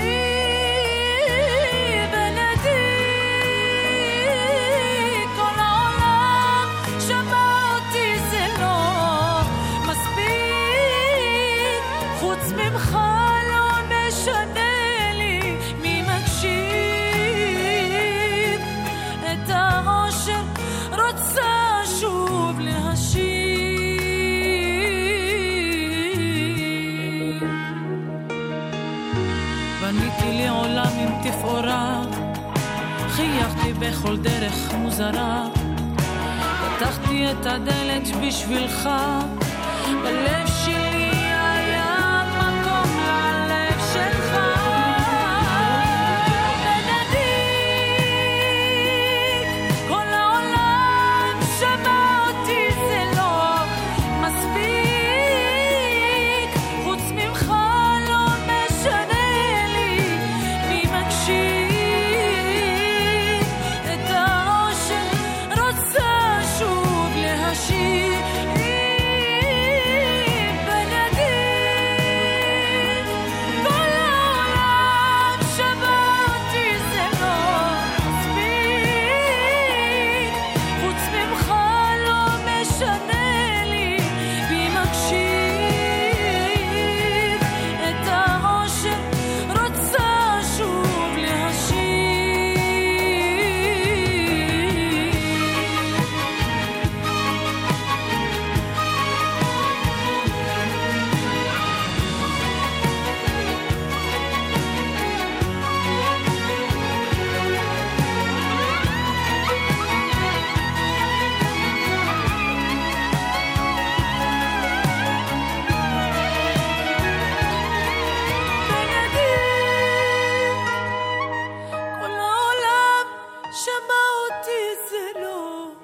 בנדיק כל העולם שמע אותי, זה לא מספיק, חוץ ממך לא משנה לי מי מקשיב, את האושר רוצה שוב להשיב. בניתי לי עולם עם תפאורה, חייכתי בכל דרך מוזרה, פתחתי את הדלת בשבילך, בלב שלי היה מקום ללב שלך. בנדיק כל העולם שמע אותי, זה לא מספיק, חוץ ממך לא משנה לי מי מקשיב, את האושר רוצה שוב להשיב. בנדיק כל העולם שמע אותי, זה לא מספיק, חוץ ממך לא משנה לי מי מקשיב, את האושר רוצה שוב כל העולם שמע אותי, זה לא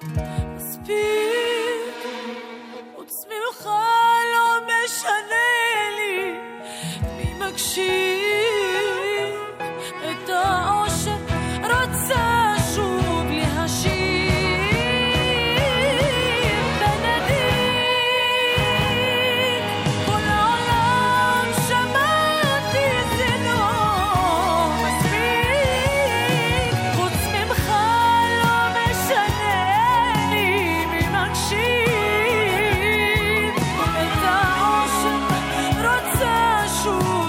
מספיק, חוץ ממך לא משנה לי מי מקשיב, את האושר רוצה שוב להשיב. בנדיק כל העולם שמע אותי, זה לא מספיק, חוץ ממך לא משנה לי מי מקשיב, את האושר רוצה שוב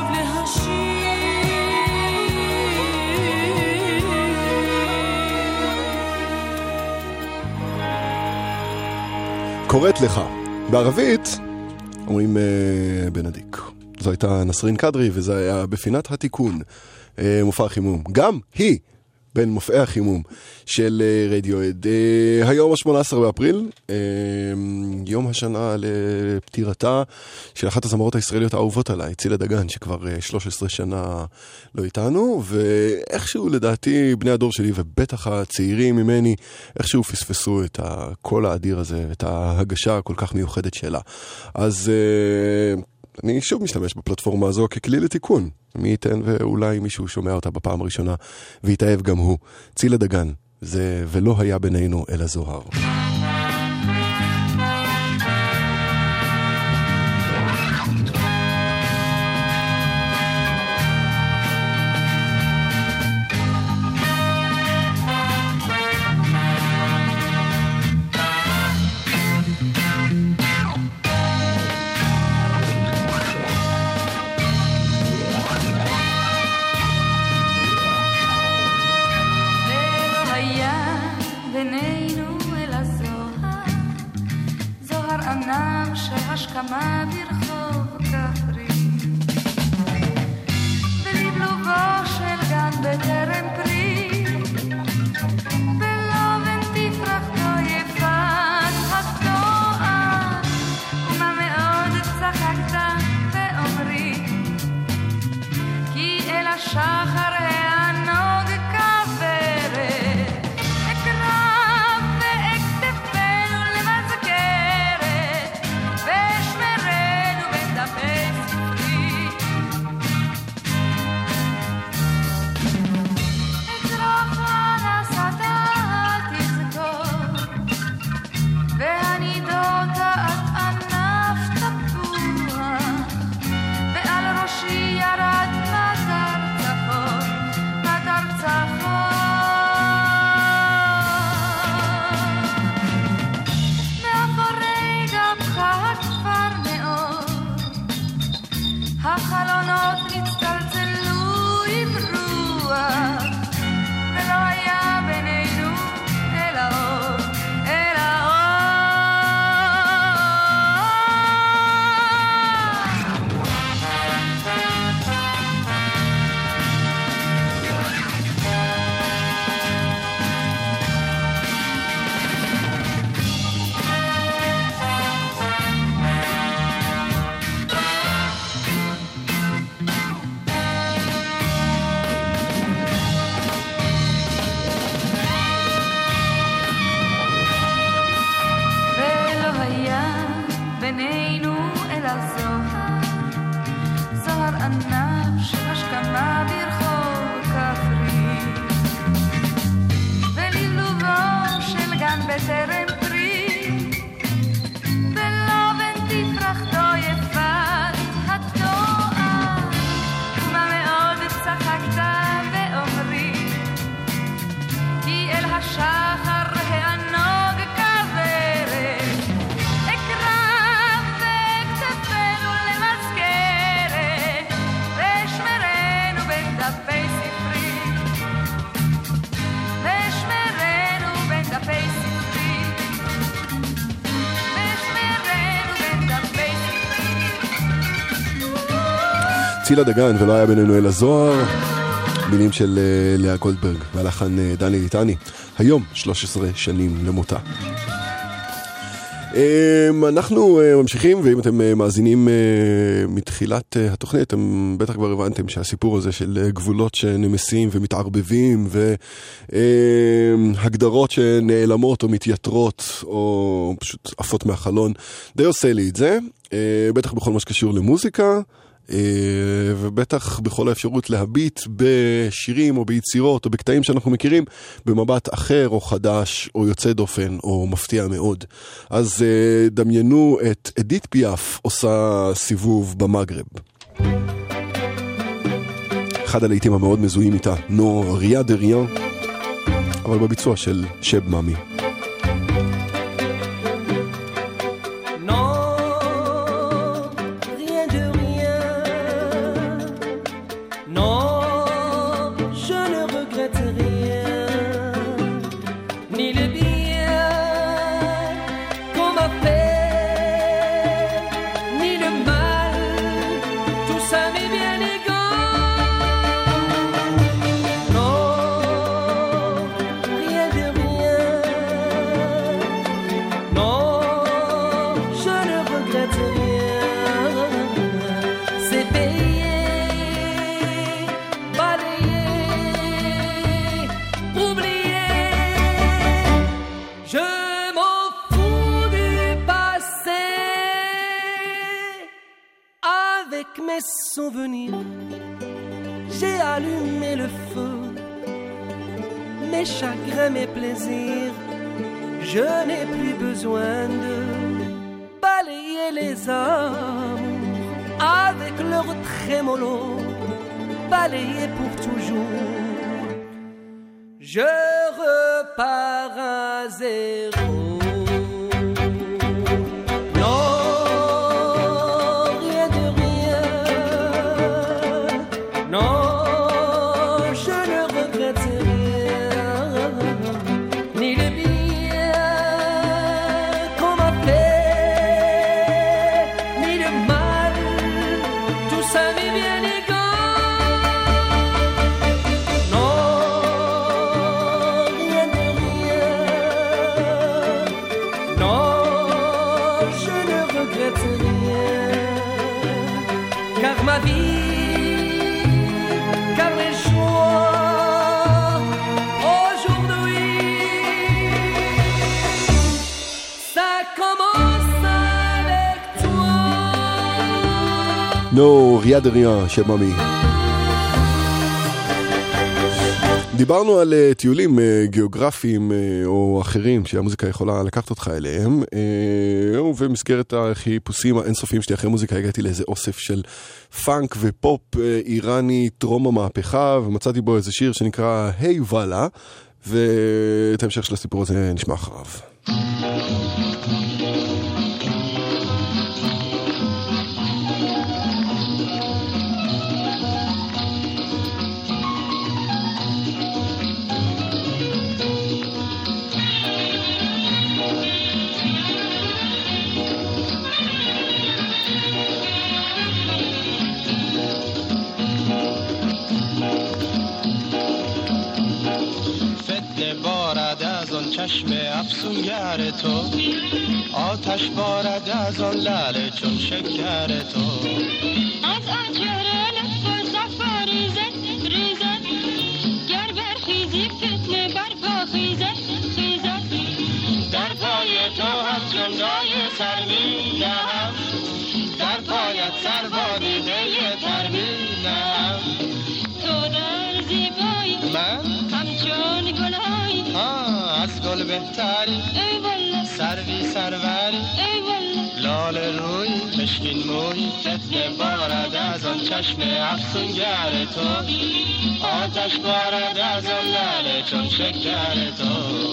להשיב. קוראת לך. בערבית אומרים אה, בנדיק. זו הייתה נסרין קדרי, וזה היה בפינת התיקון, אה, מופע חימום. גם היא בין מופעי החימום של רדיואד. היום ה-שמונה עשר באפריל, יום השנה לפטירתה של אחת הזמרות הישראליות האהובות עליי, צילה דגן, שכבר שלוש עשרה שנה לא איתנו, ואיכשהו לדעתי בני הדור שלי ובטח הצעירים ממני, איכשהו פספסו את הקול האדיר הזה, את ההגשה הכל כך מיוחדת שלה. אז אני שוב משתמש בפלטפורמה הזו ככלי לתיקון. מי ייתן ואולי מישהו שומע אותה בפעם הראשונה ויתאהב גם הוא. צילה דגן, זה ולא היה בינינו אלא זוהר. השכמה ברחוב כפרי בלבלובו של גן בטרם פרי בלובן תפרחתו יפת התואר ומה מאוד צחקת ואומרי כי אל השחר הענוג כברת אקרב ואקטפנו למזכרת ושמרנו בדפי ספרי אצרוך הנסתה תזכור והנידות את ענף תפוח ועל ראשי ירד מטר צחור מטר צחור מאחורי גבך הכפר מאוד החלונות נצטלצלו עם רוח ולא היה בינינו אלא אור אלא ולא היה בינינו אלא זוהר זוהר ענב של השכמה ברחוב כפרי ולבלובו של גן בטרם פרי בלובן תפרחתו יפת התואר ומה מאוד צחקת ואומרי כי אל השחר הענוג כברת אקרב וכתפנו למזכרת ושמרנו בדפי ספרי ושמרנו בדפי ספרי ושמרנו בדפי ספרי צילה דגן ולא היה בינינו אלא זוהר, מילים של uh, לאה גולדברג והלחן uh, דני ליטני. היום שלוש עשרה שנים למותה. Um, אנחנו uh, ממשיכים, ואם אתם uh, מאזינים uh, מתחילת uh, התוכנית, אתם בטח כבר הבנתם שהסיפור הזה של uh, גבולות שנמסים ומתערבבים והגדרות uh, שנעלמות או מתייתרות או פשוט עפות מהחלון די עושה לי את זה, uh, בטח בכל מה שקשור למוזיקה ובטח בכל האפשרות להביט בשירים או ביצירות או בקטעים שאנחנו מכירים במבט אחר או חדש או יוצא דופן או מפתיע מאוד. אז דמיינו את אדית פיאף עושה סיבוב במגרב. אחד הלעיתים המאוד מזוהים איתה, נו ריה דה ריאן, אבל בביצוע של שב מאמי. No mes souvenirs, j'ai allumé le feu. Mes chagrins, mes plaisirs, je n'ai plus besoin de balayer les amours avec leur trémolo, balayer pour toujours. Je repars à zéro. נו, ריאד ריאן, שם ממי. דיברנו על uh, טיולים uh, גיאוגרפיים uh, או אחרים שהמוזיקה יכולה לקחת אותך אליהם, uh, ובמסגרת החיפושים האינסופיים שלי אחרי מוזיקה הגעתי לאיזה אוסף של פאנק ופופ uh, איראני טרום המהפכה, ומצאתי בו איזה שיר שנקרא היי וואלה, ואת ההמשך של הסיפור הזה נשמע אחריו. چشم افسونگر تو آتش بارد از آن لعل چون شکر تو از آنجره لطف صفا ریزد ریزد گر برخیزی فتنه برپا خیزد خیزد در پای تو هم جملای سر می نهم در پایت سر با دیده تر می نهم تو در زیبایی من همچون گلهایی از گل بهتری ای والله سروی سروری ای والله لاله روی مشکین موی فتنه بارد از آن چشم افسونگر تو آتش بارد از آن لعل چون شکر تو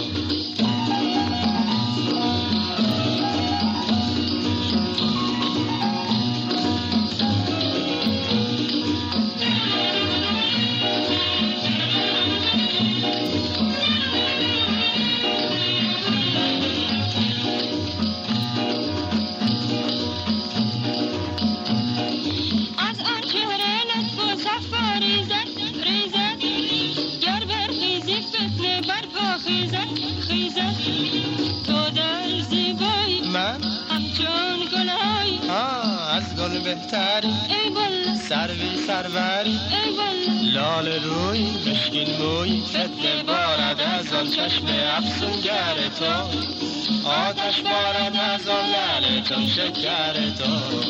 بهتری ای والله سروی سروری ای والله لاله روی مشکین موی فتنه بارد از آن چشم افسونگر تو آتش بارد از آن لعل چون شکر تو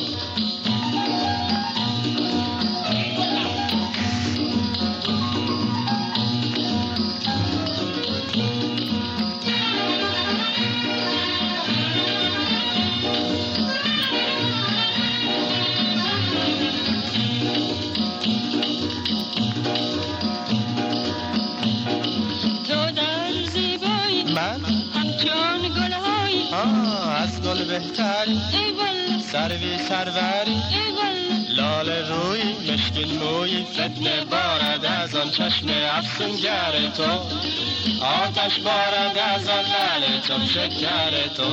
بهتری ای والله سروی سروری ای والله لاله روی مشکین موی فتنه بارد از آن چشم افسونگر تو آتش بارد از آن لعل چون شکر تو.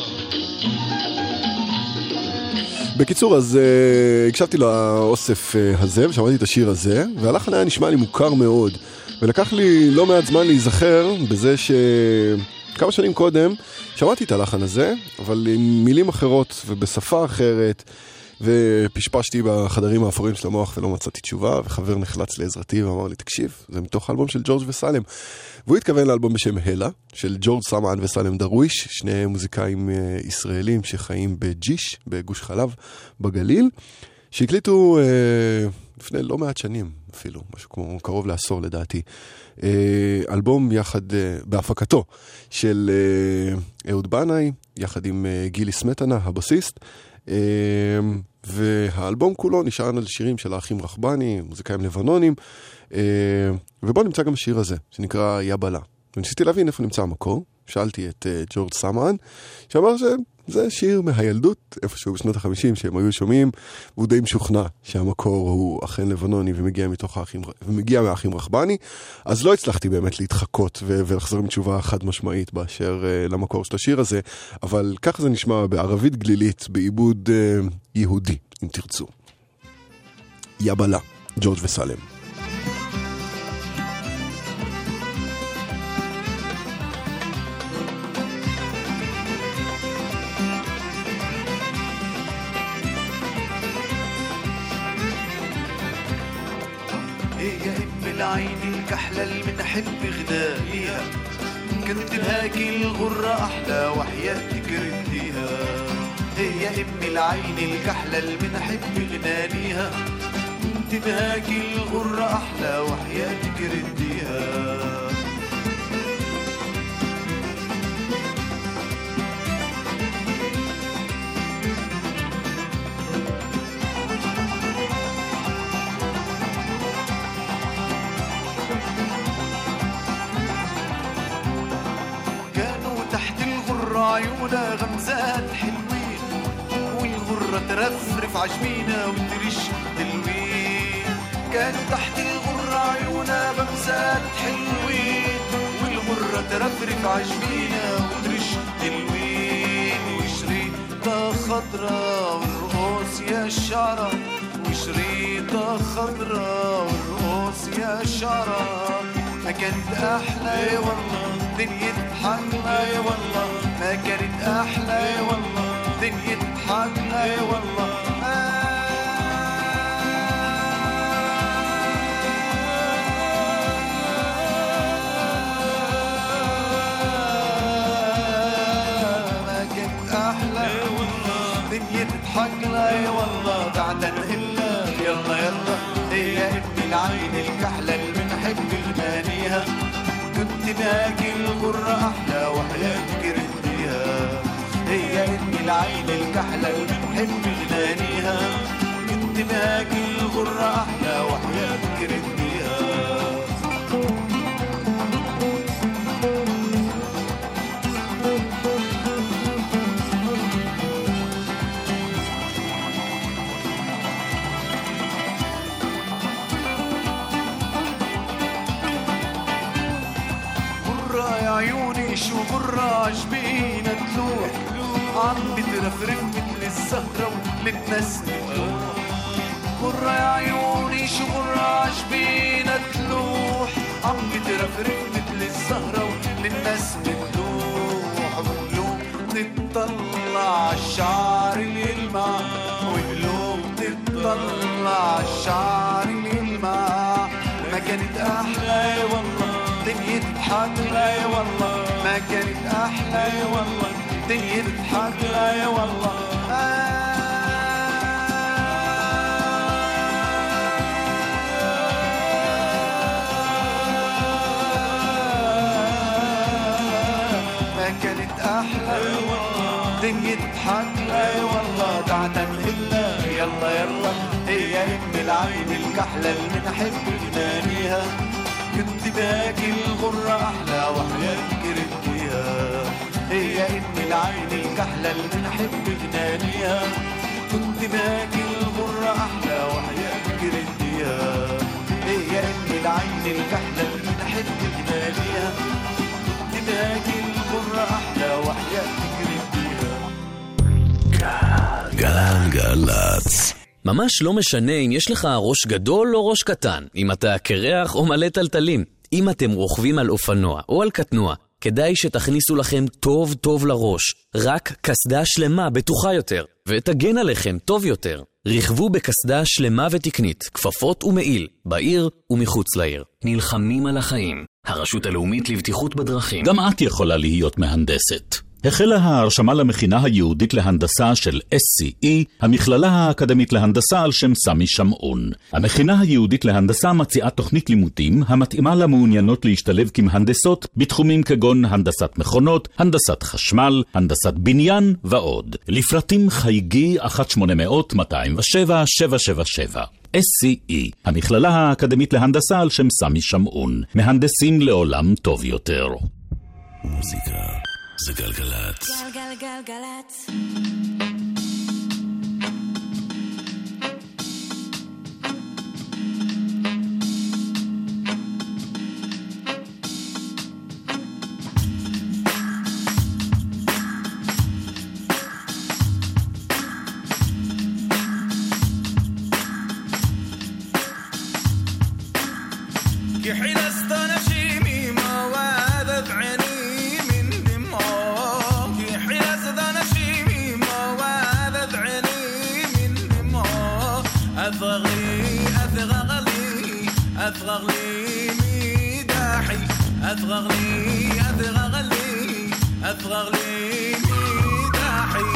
בקיצור, אז uh, הקשבתי לאוסף uh, הזה ושמעתי את השיר הזה, והלחן היה נשמע לי מוכר מאוד, ולקח לי לא מעט זמן להיזכר בזה שכמה שנים קודם שמעתי את הלחן הזה, אבל עם מילים אחרות ובשפה אחרת, ופשפשתי בחדרים האפורים של המוח ולא מצאתי תשובה, וחבר נחלץ לעזרתי ואמר לי, תקשיב, זה מתוך האלבום של ג'ורג' וסלם. והוא התכוון לאלבום בשם הלה, של ג'ורג' סמען וסלם דרוויש, שני מוזיקאים ישראלים שחיים בג'יש, בגוש חלב, בגליל, שהקליטו אה, לפני לא מעט שנים אפילו, משהו כמו קרוב לעשור לדעתי, אה, אלבום יחד, אה, בהפקתו של אה, אהוד בנאי, יחד עם אה, גילי סמטנה, הבסיסט, אה, והאלבום כולו נשען על שירים של האחים רחבני, מוזיקאים לבנונים, אה, ובו נמצא גם השיר הזה, שנקרא יבלה. וניסיתי להבין איפה נמצא המקור, שאלתי את uh, ג'ורג' סאמן, שאמר שזה שיר מהילדות, איפשהו בשנות החמישים שהם היו שומעים, והוא די משוכנע שהמקור הוא אכן לבנוני ומגיע, מתוך האחים, ומגיע מהאחים רחבני, אז לא הצלחתי באמת להתחקות ו- ולחזור עם תשובה חד משמעית באשר uh, למקור של השיר הזה, אבל ככה זה נשמע בערבית גלילית, בעיבוד uh, יהודי, אם תרצו. יבלה, ג'ורג' וסלם. العين الكحلة اللي بنحب غناليها كنت بهاكي الغرة أحلى وحياتك رديها هي أمي العين الكحلة اللي بنحب غناليها كنت بهاكي الغرة أحلى وحياتك رديها عيونا غمزات حلوين والغرة ترفرف عجمينا وترش دلوين كانوا تحت الغرة عيونا غمزات حلوين والغرة ترفرف عجمينا وترش دلوين وشريطة خضرا والرؤوس يا الشعرة وشريطة خضرا والرؤوس يا الشعرة ما كانت أحلى والله دنيا تضحكنا يا والله ما كانت أحلى يا والله دنيا تضحكنا يا والله ما كانت أحلى يا والله دنيا تضحكنا يا والله بعد نهلا يلا يلا هي ابني العين الكحلة اللي بنحب المانيها كنت باقي الغرة أحلى وحياتك رديها هي ابني العين الكحلة اللي بنحب غنانيها كنت باقي الغرة أحلى وحياتك رديها عيوني شو غرة عجبينا تلوح عم بترفرف مثل الزهرة وللناس تلوح غرة يا عيوني شو غرة عجبينا تلوح عم بترفرف مثل الزهرة وللناس تلوح وقلوب تطلع عالشعر يلمع وقلوب تطلع عالشعر يلمع ما كانت أحلى والله دنيا تضحك لا يا والله ما كانت أحلى يا والله دنيا تضحك لا يا والله ما كانت أحلى يا والله دنيا تضحك لا يا والله تعال نهلا يلا يلا هي أم العين الكحلة اللي بنحب غنانيها كنت باقي الغرة أحلى وحياتك رديها هي ابني العين الكحلة اللي بنحب غنانيها كنت باقي الغرة أحلى وحياتك رديها هي ابني العين الكحلة اللي بنحب غنانيها كنت باقي الغرة أحلى وحياتك رديها גלגלצ. ממש לא משנה אם יש לך ראש גדול או ראש קטן, אם אתה קרח או מלא טלטלים. אם אתם רוכבים על אופנוע או על קטנוע, כדאי שתכניסו לכם טוב טוב לראש. רק קסדה שלמה בטוחה יותר, ותגן עליכם טוב יותר. רכבו בקסדה שלמה ותקנית, כפפות ומעיל, בעיר ומחוץ לעיר. נלחמים על החיים. הרשות הלאומית לבטיחות בדרכים. גם את יכולה להיות מהנדסת. החלה ההרשמה למכינה היהודית להנדסה של אס סי אי, המכללה האקדמית להנדסה על שם סמי שמעון. המכינה היהודית להנדסה מציעה תוכנית לימודים המתאימה למעוניינות להשתלב כמהנדסות בתחומים כגון הנדסת מכונות, הנדסת חשמל, הנדסת בניין ועוד. לפרטים חייגי אחת שמונה אפס אפס מאתיים ושבע שבע שבע שבע. אס סי אי, המכללה האקדמית להנדסה על שם סמי שמעון. מהנדסים לעולם טוב יותר. מוזיקה זה גלגלת. גלגלגלגלת. أفرغ لي ميداحي أفرغ لي أفرغ لي أفرغ لي ميداحي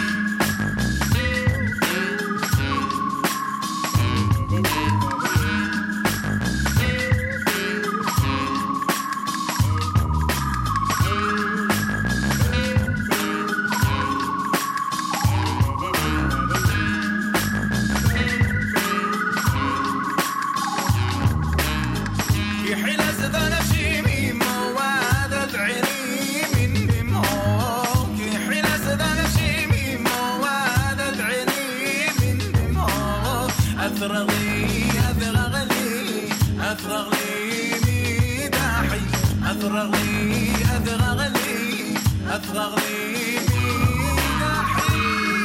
أفرغ لي أفرغ لي أفرغ لي ميداحي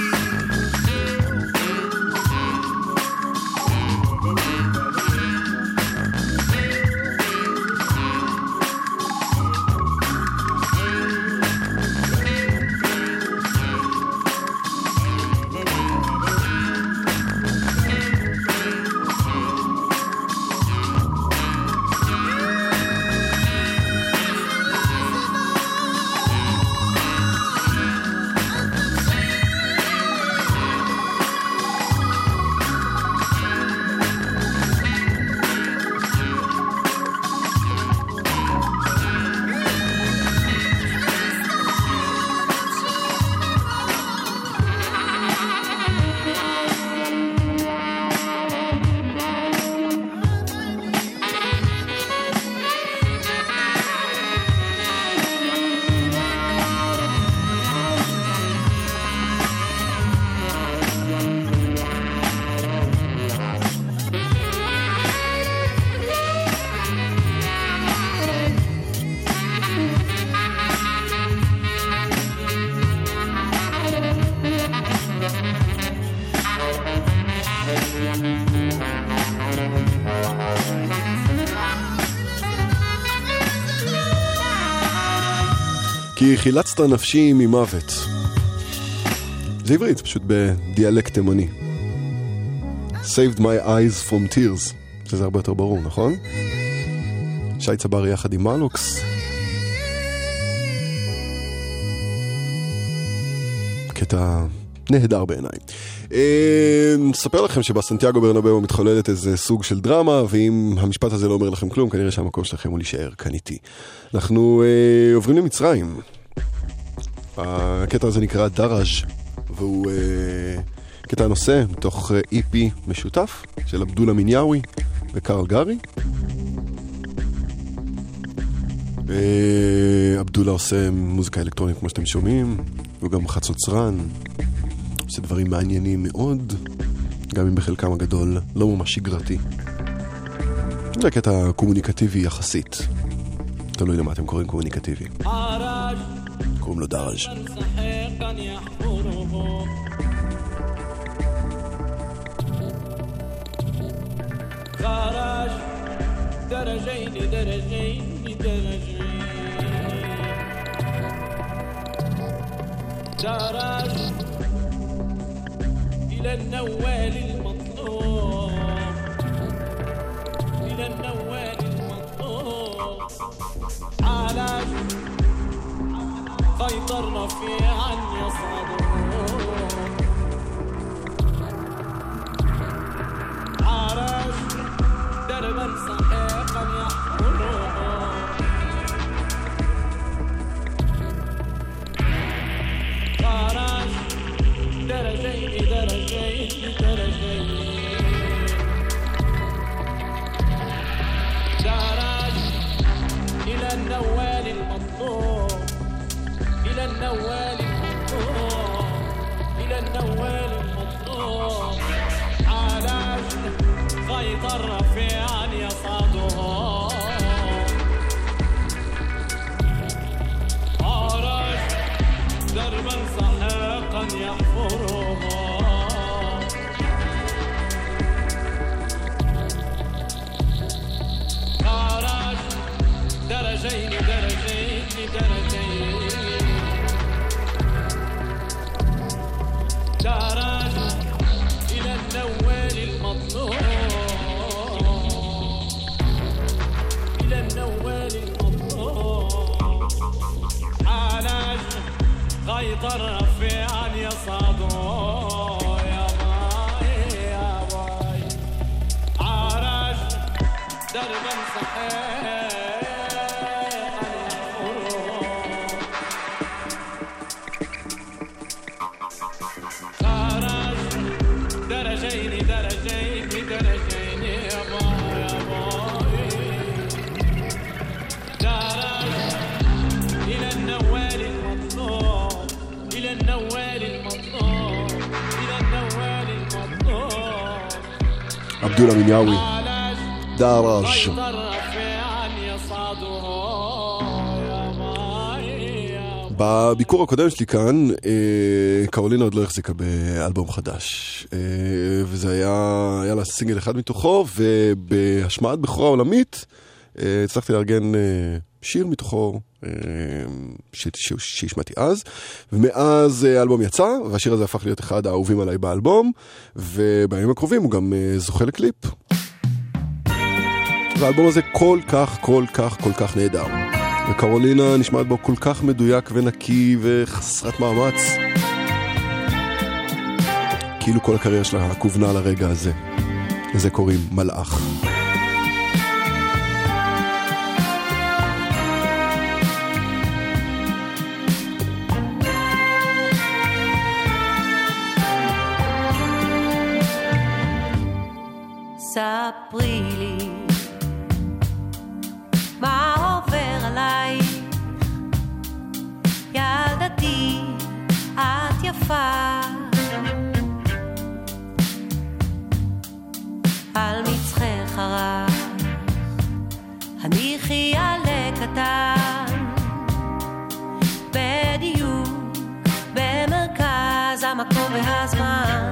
כי חילצת נפשי ממוות. זה עברית, פשוט בדיאלקט תימני. Saved my eyes from tears. זה הרבה יותר ברור, נכון? שי צברי יחד עם מלוקס. קטע נהדר בעיניי. נספר לכם שבסנטיאגו ברנבאו מתחוללת איזה סוג של דרמה, ואם המשפט הזה לא אומר לכם כלום, כנראה שהמקום שלכם הוא להישאר כאן איתי. אנחנו אה, עוברים למצרים. הקטע הזה נקרא דראז' והוא אה, קטע נושא מתוך אי פי משותף של עבדולה מיניאווי וקרל גארי. אה, עבדולה עושה מוזיקה אלקטרונית כמו שאתם שומעים, הוא גם חצוצרן, עושה דברים מעניינים מאוד, גם אם בחלקם הגדול לא ממש שגרתי. זה קטע קומוניקטיבי יחסית. תלוי למה אתם קוראים קומוניקטיבי. קוראים לו דראז'. دراج درجين درجين درجين دراج إلى النوال المطلوب إلى النوال المطلوب علاج سيطرنا في عن يصعدون عرش دربا سحيقا يحفرون عرش درجين درجين درجين درج إلى النوال المطلوب إلى النوال المطلوب إلى النوال المطلوب علاج سيطر رفيعا يصعده عرج دربا سحاقا يحفره عرج درجين درجين درجين درج إلى النوال المطلوب إلى النوال المطلوب علاج غيطر رفيعا يصعده يا باي يا باي عرج دربا صحيح درجين درجين درجين يا باي يا باي درج إلى النوال المطلوب إلى النوال المطلوب إلى النوال المطلوب عبد الله منياوي دارج בביקור הקודם שלי כאן, קרולינה עוד לא החזיקה באלבום חדש, וזה היה, היה לה סינגל אחד מתוכו, ובהשמעת בכורה עולמית הצלחתי לארגן שיר מתוכו שהשמעתי אז, ומאז האלבום יצא, והשיר הזה הפך להיות אחד האהובים עליי באלבום, ובימים הקרובים הוא גם זוכה לקליפ. והאלבום הזה כל כך, כל כך, כל כך נהדר. וקרולינה נשמעת בו כל כך מדויק ונקי וחסרת מאמץ. כאילו כל הקריירה שלה כוונה לרגע הזה. לזה קוראים מלאך. ספרי לי מה עובר עליי, ילדתי את יפה, על מצחך הרך הניחי עלה קטן, בדיוק במרכז המקום והזמן,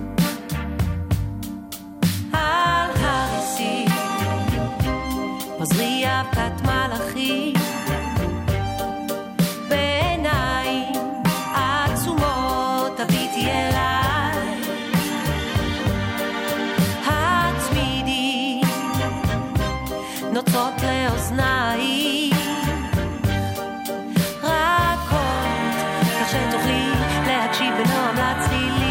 על הריסי עוזרי אבקת מלאכי, בעיניים עצומות תביטי אליי, הצמידי נוצות לאוזניי, רכות כך שתוכלי להקשיב בנועם לצלילים,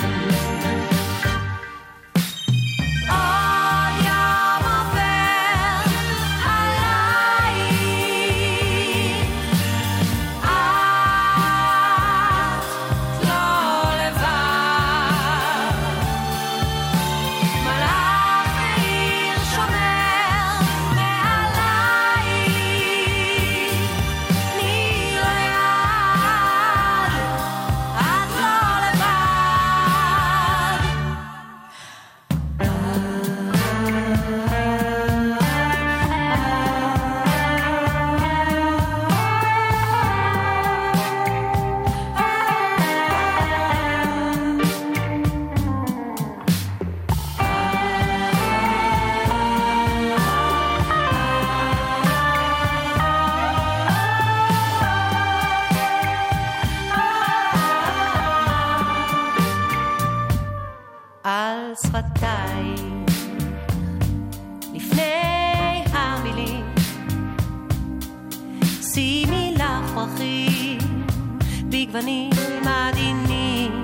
על שפתיי לפני המילים שימי לך פרחים בגוונים עדינים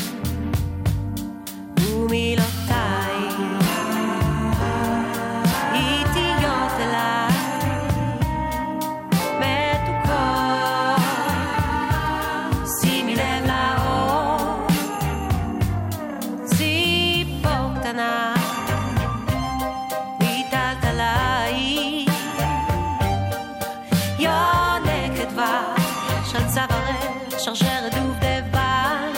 ומילותיי איטיות אליי מתוקות שימי לב לאור ציפור קטנה ויטלת עליי יונקת דבש של צווארך שרשרת דובדבן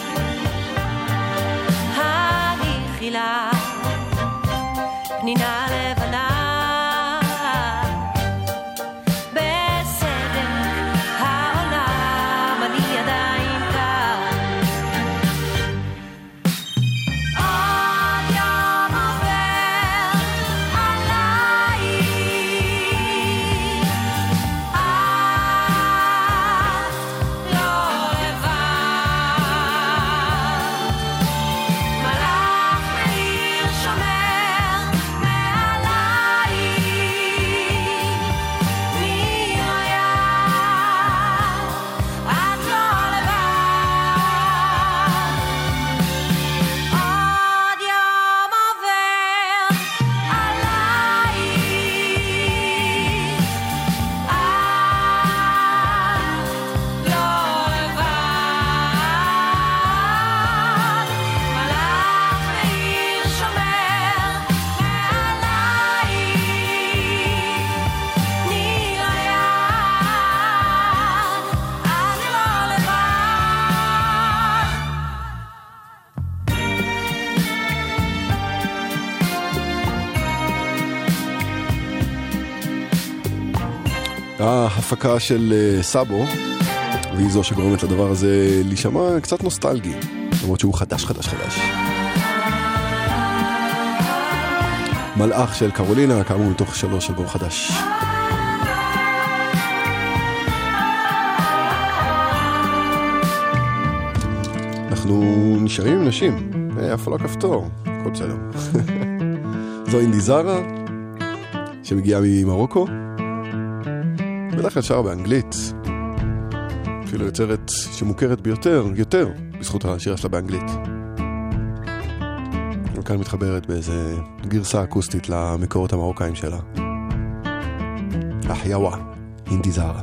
הניחילה פנינה לבנה בסדר העולם אני עדיין כאן עוד יום עובר עליי את לא לבד מלאך מאיר שומר מעליי נראה את לא לבד עוד יום עובר עליי את לא לבד מלאך מאיר שומר מעליי נראה את לא ההפקה של אה, סאבו, והיא זו שגורמת לדבר הזה להישמע קצת נוסטלגי, למרות שהוא חדש חדש חדש. מלאך של קרולינה, כאמור מתוך שלוש אלבום חדש. אנחנו נשארים עם נשים, אף לא כפתור, הכל בסדר. זו אינדיזרה, שמגיעה ממרוקו, בדרך כלל שר באנגלית, אפילו יוצרת שמוכרת ביותר, יותר, בזכות השירה שלה באנגלית. וכאן מתחברת באיזה גרסה אקוסטית למקורות המרוקאים שלה. אחייווה, אינדיזרה.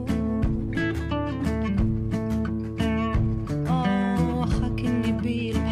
Be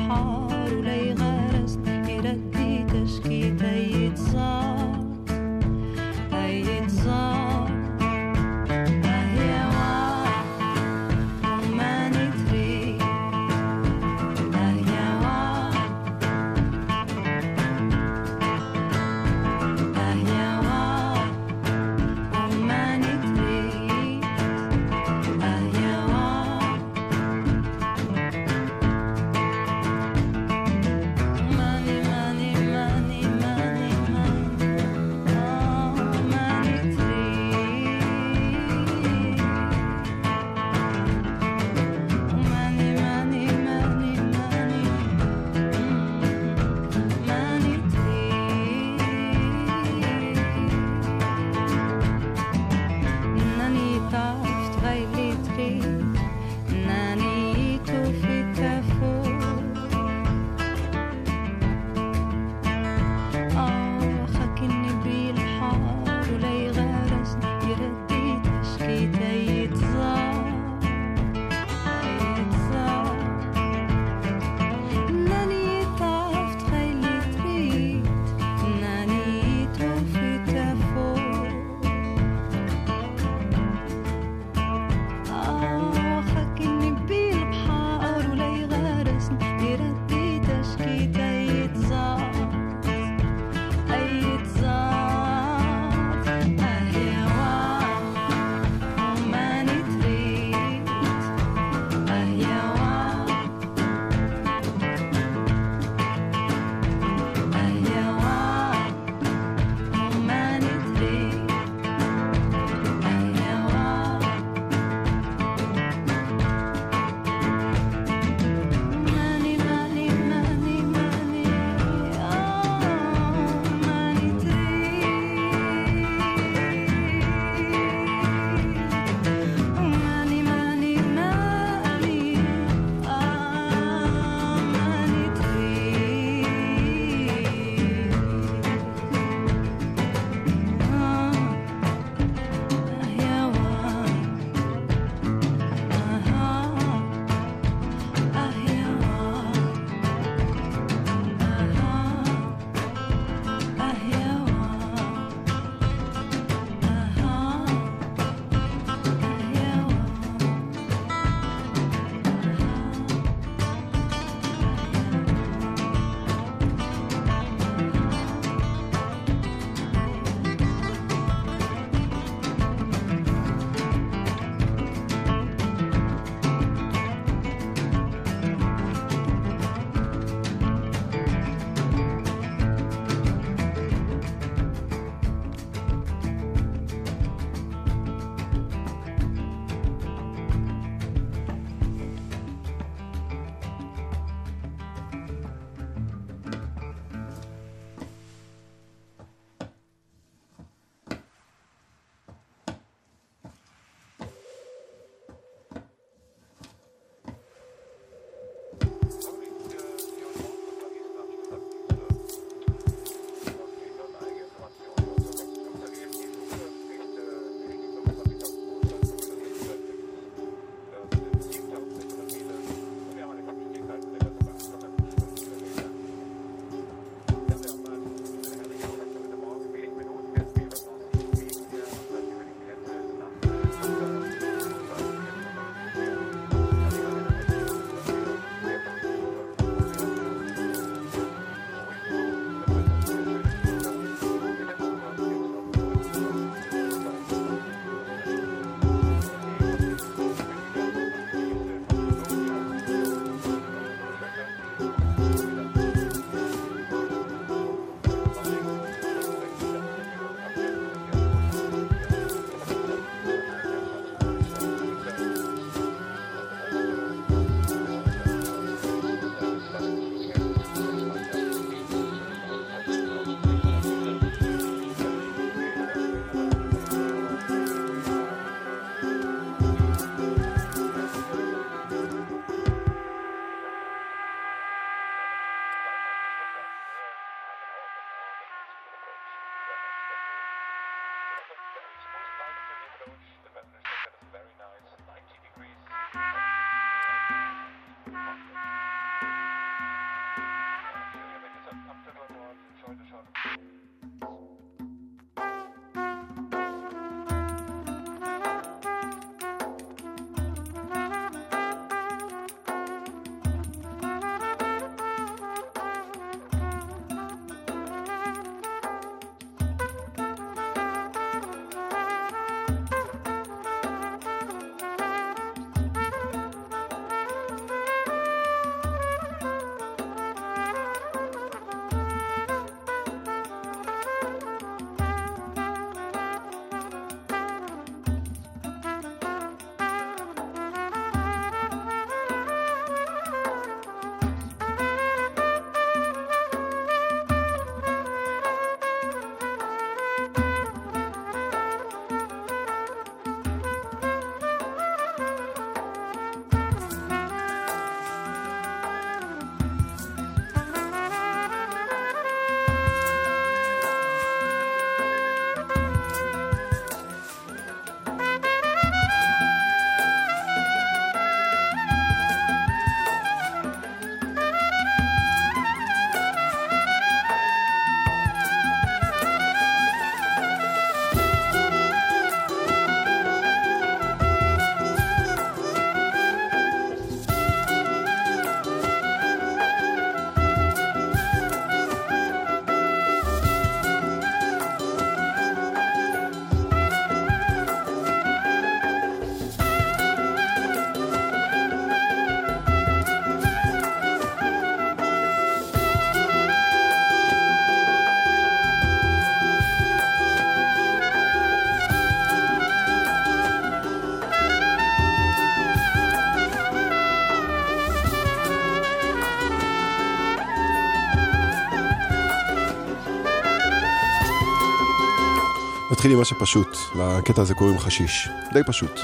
נתחיל עם משהו פשוט. לקטע הזה קוראים חשיש. די פשוט.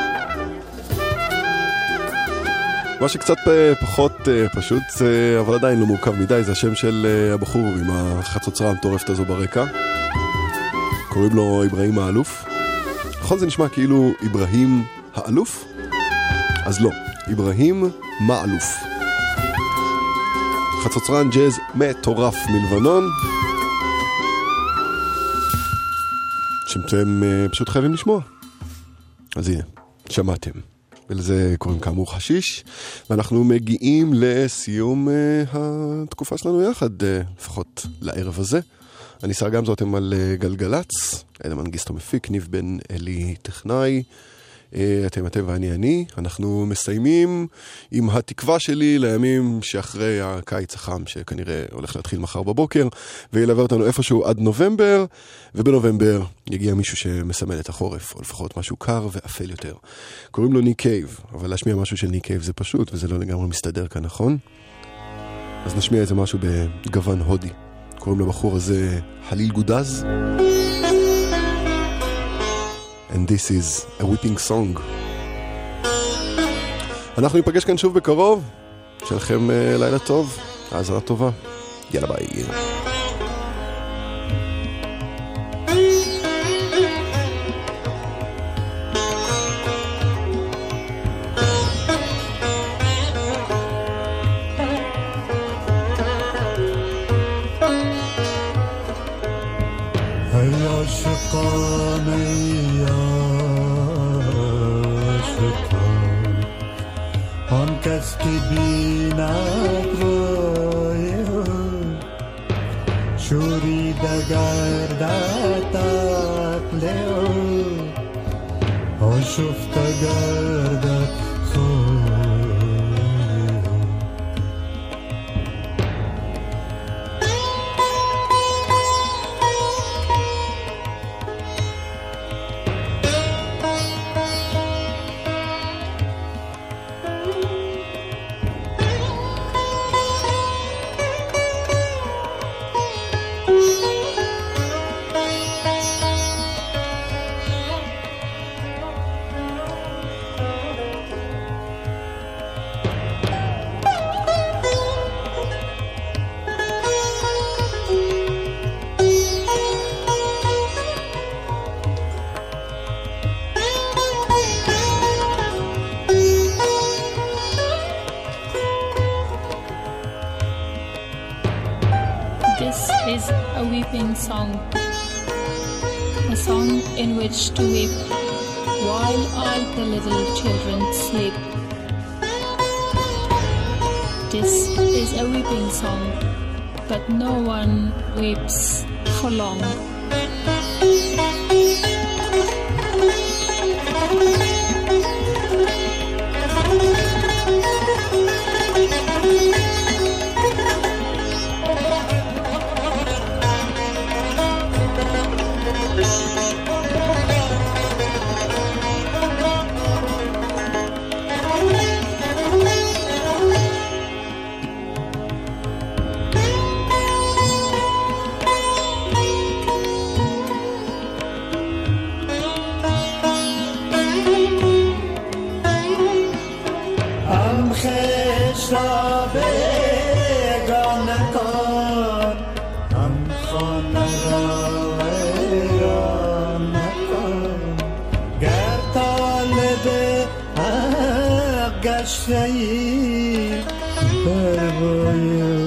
מה שקצת פחות פשוט, אבל עדיין לא מורכב מדי, זה השם של הבחור עם החצוצרה המטורפת הזו ברקע. קוראים לו איברהים האלוף. נכון זה נשמע כאילו איברהים האלוף? אז לא, איברהים מאלוף. חצוצרן ג'אז מטורף מלבנון, שאתם פשוט חייבים לשמוע. אז הנה, שמעתם. ולזה קוראים כאמור חשיש, ואנחנו מגיעים לסיום uh, התקופה שלנו יחד, uh, לפחות לערב הזה. אני שר גמזו, אתם על uh, גלגלץ, אלה מנגיסטו מפיק, ניב בן אלי טכנאי, uh, אתם אתם ואני אני. אנחנו מסיימים עם התקווה שלי לימים שאחרי הקיץ החם, שכנראה הולך להתחיל מחר בבוקר, וילווה אותנו איפשהו עד נובמבר, ובנובמבר יגיע מישהו שמסמל את החורף, או לפחות משהו קר ואפל יותר. קוראים לו ניק קייב, אבל להשמיע משהו של ניק קייב זה פשוט, וזה לא לגמרי מסתדר כאן, נכון? אז נשמיע איזה משהו בגוון הודי. קוראים לבחור הזה חליל גודז. And this is a weeping song. אנחנו ניפגש כאן שוב בקרוב. שלכם uh, לילה טוב, האזנה טובה. יאללה ביי. کس کی بیند روی شوری دگردد عقل آشفت گردد خوی Song, a song in which to weep while all the little children sleep. This is a weeping song, but no one weeps for long. گشته‌ای بر روی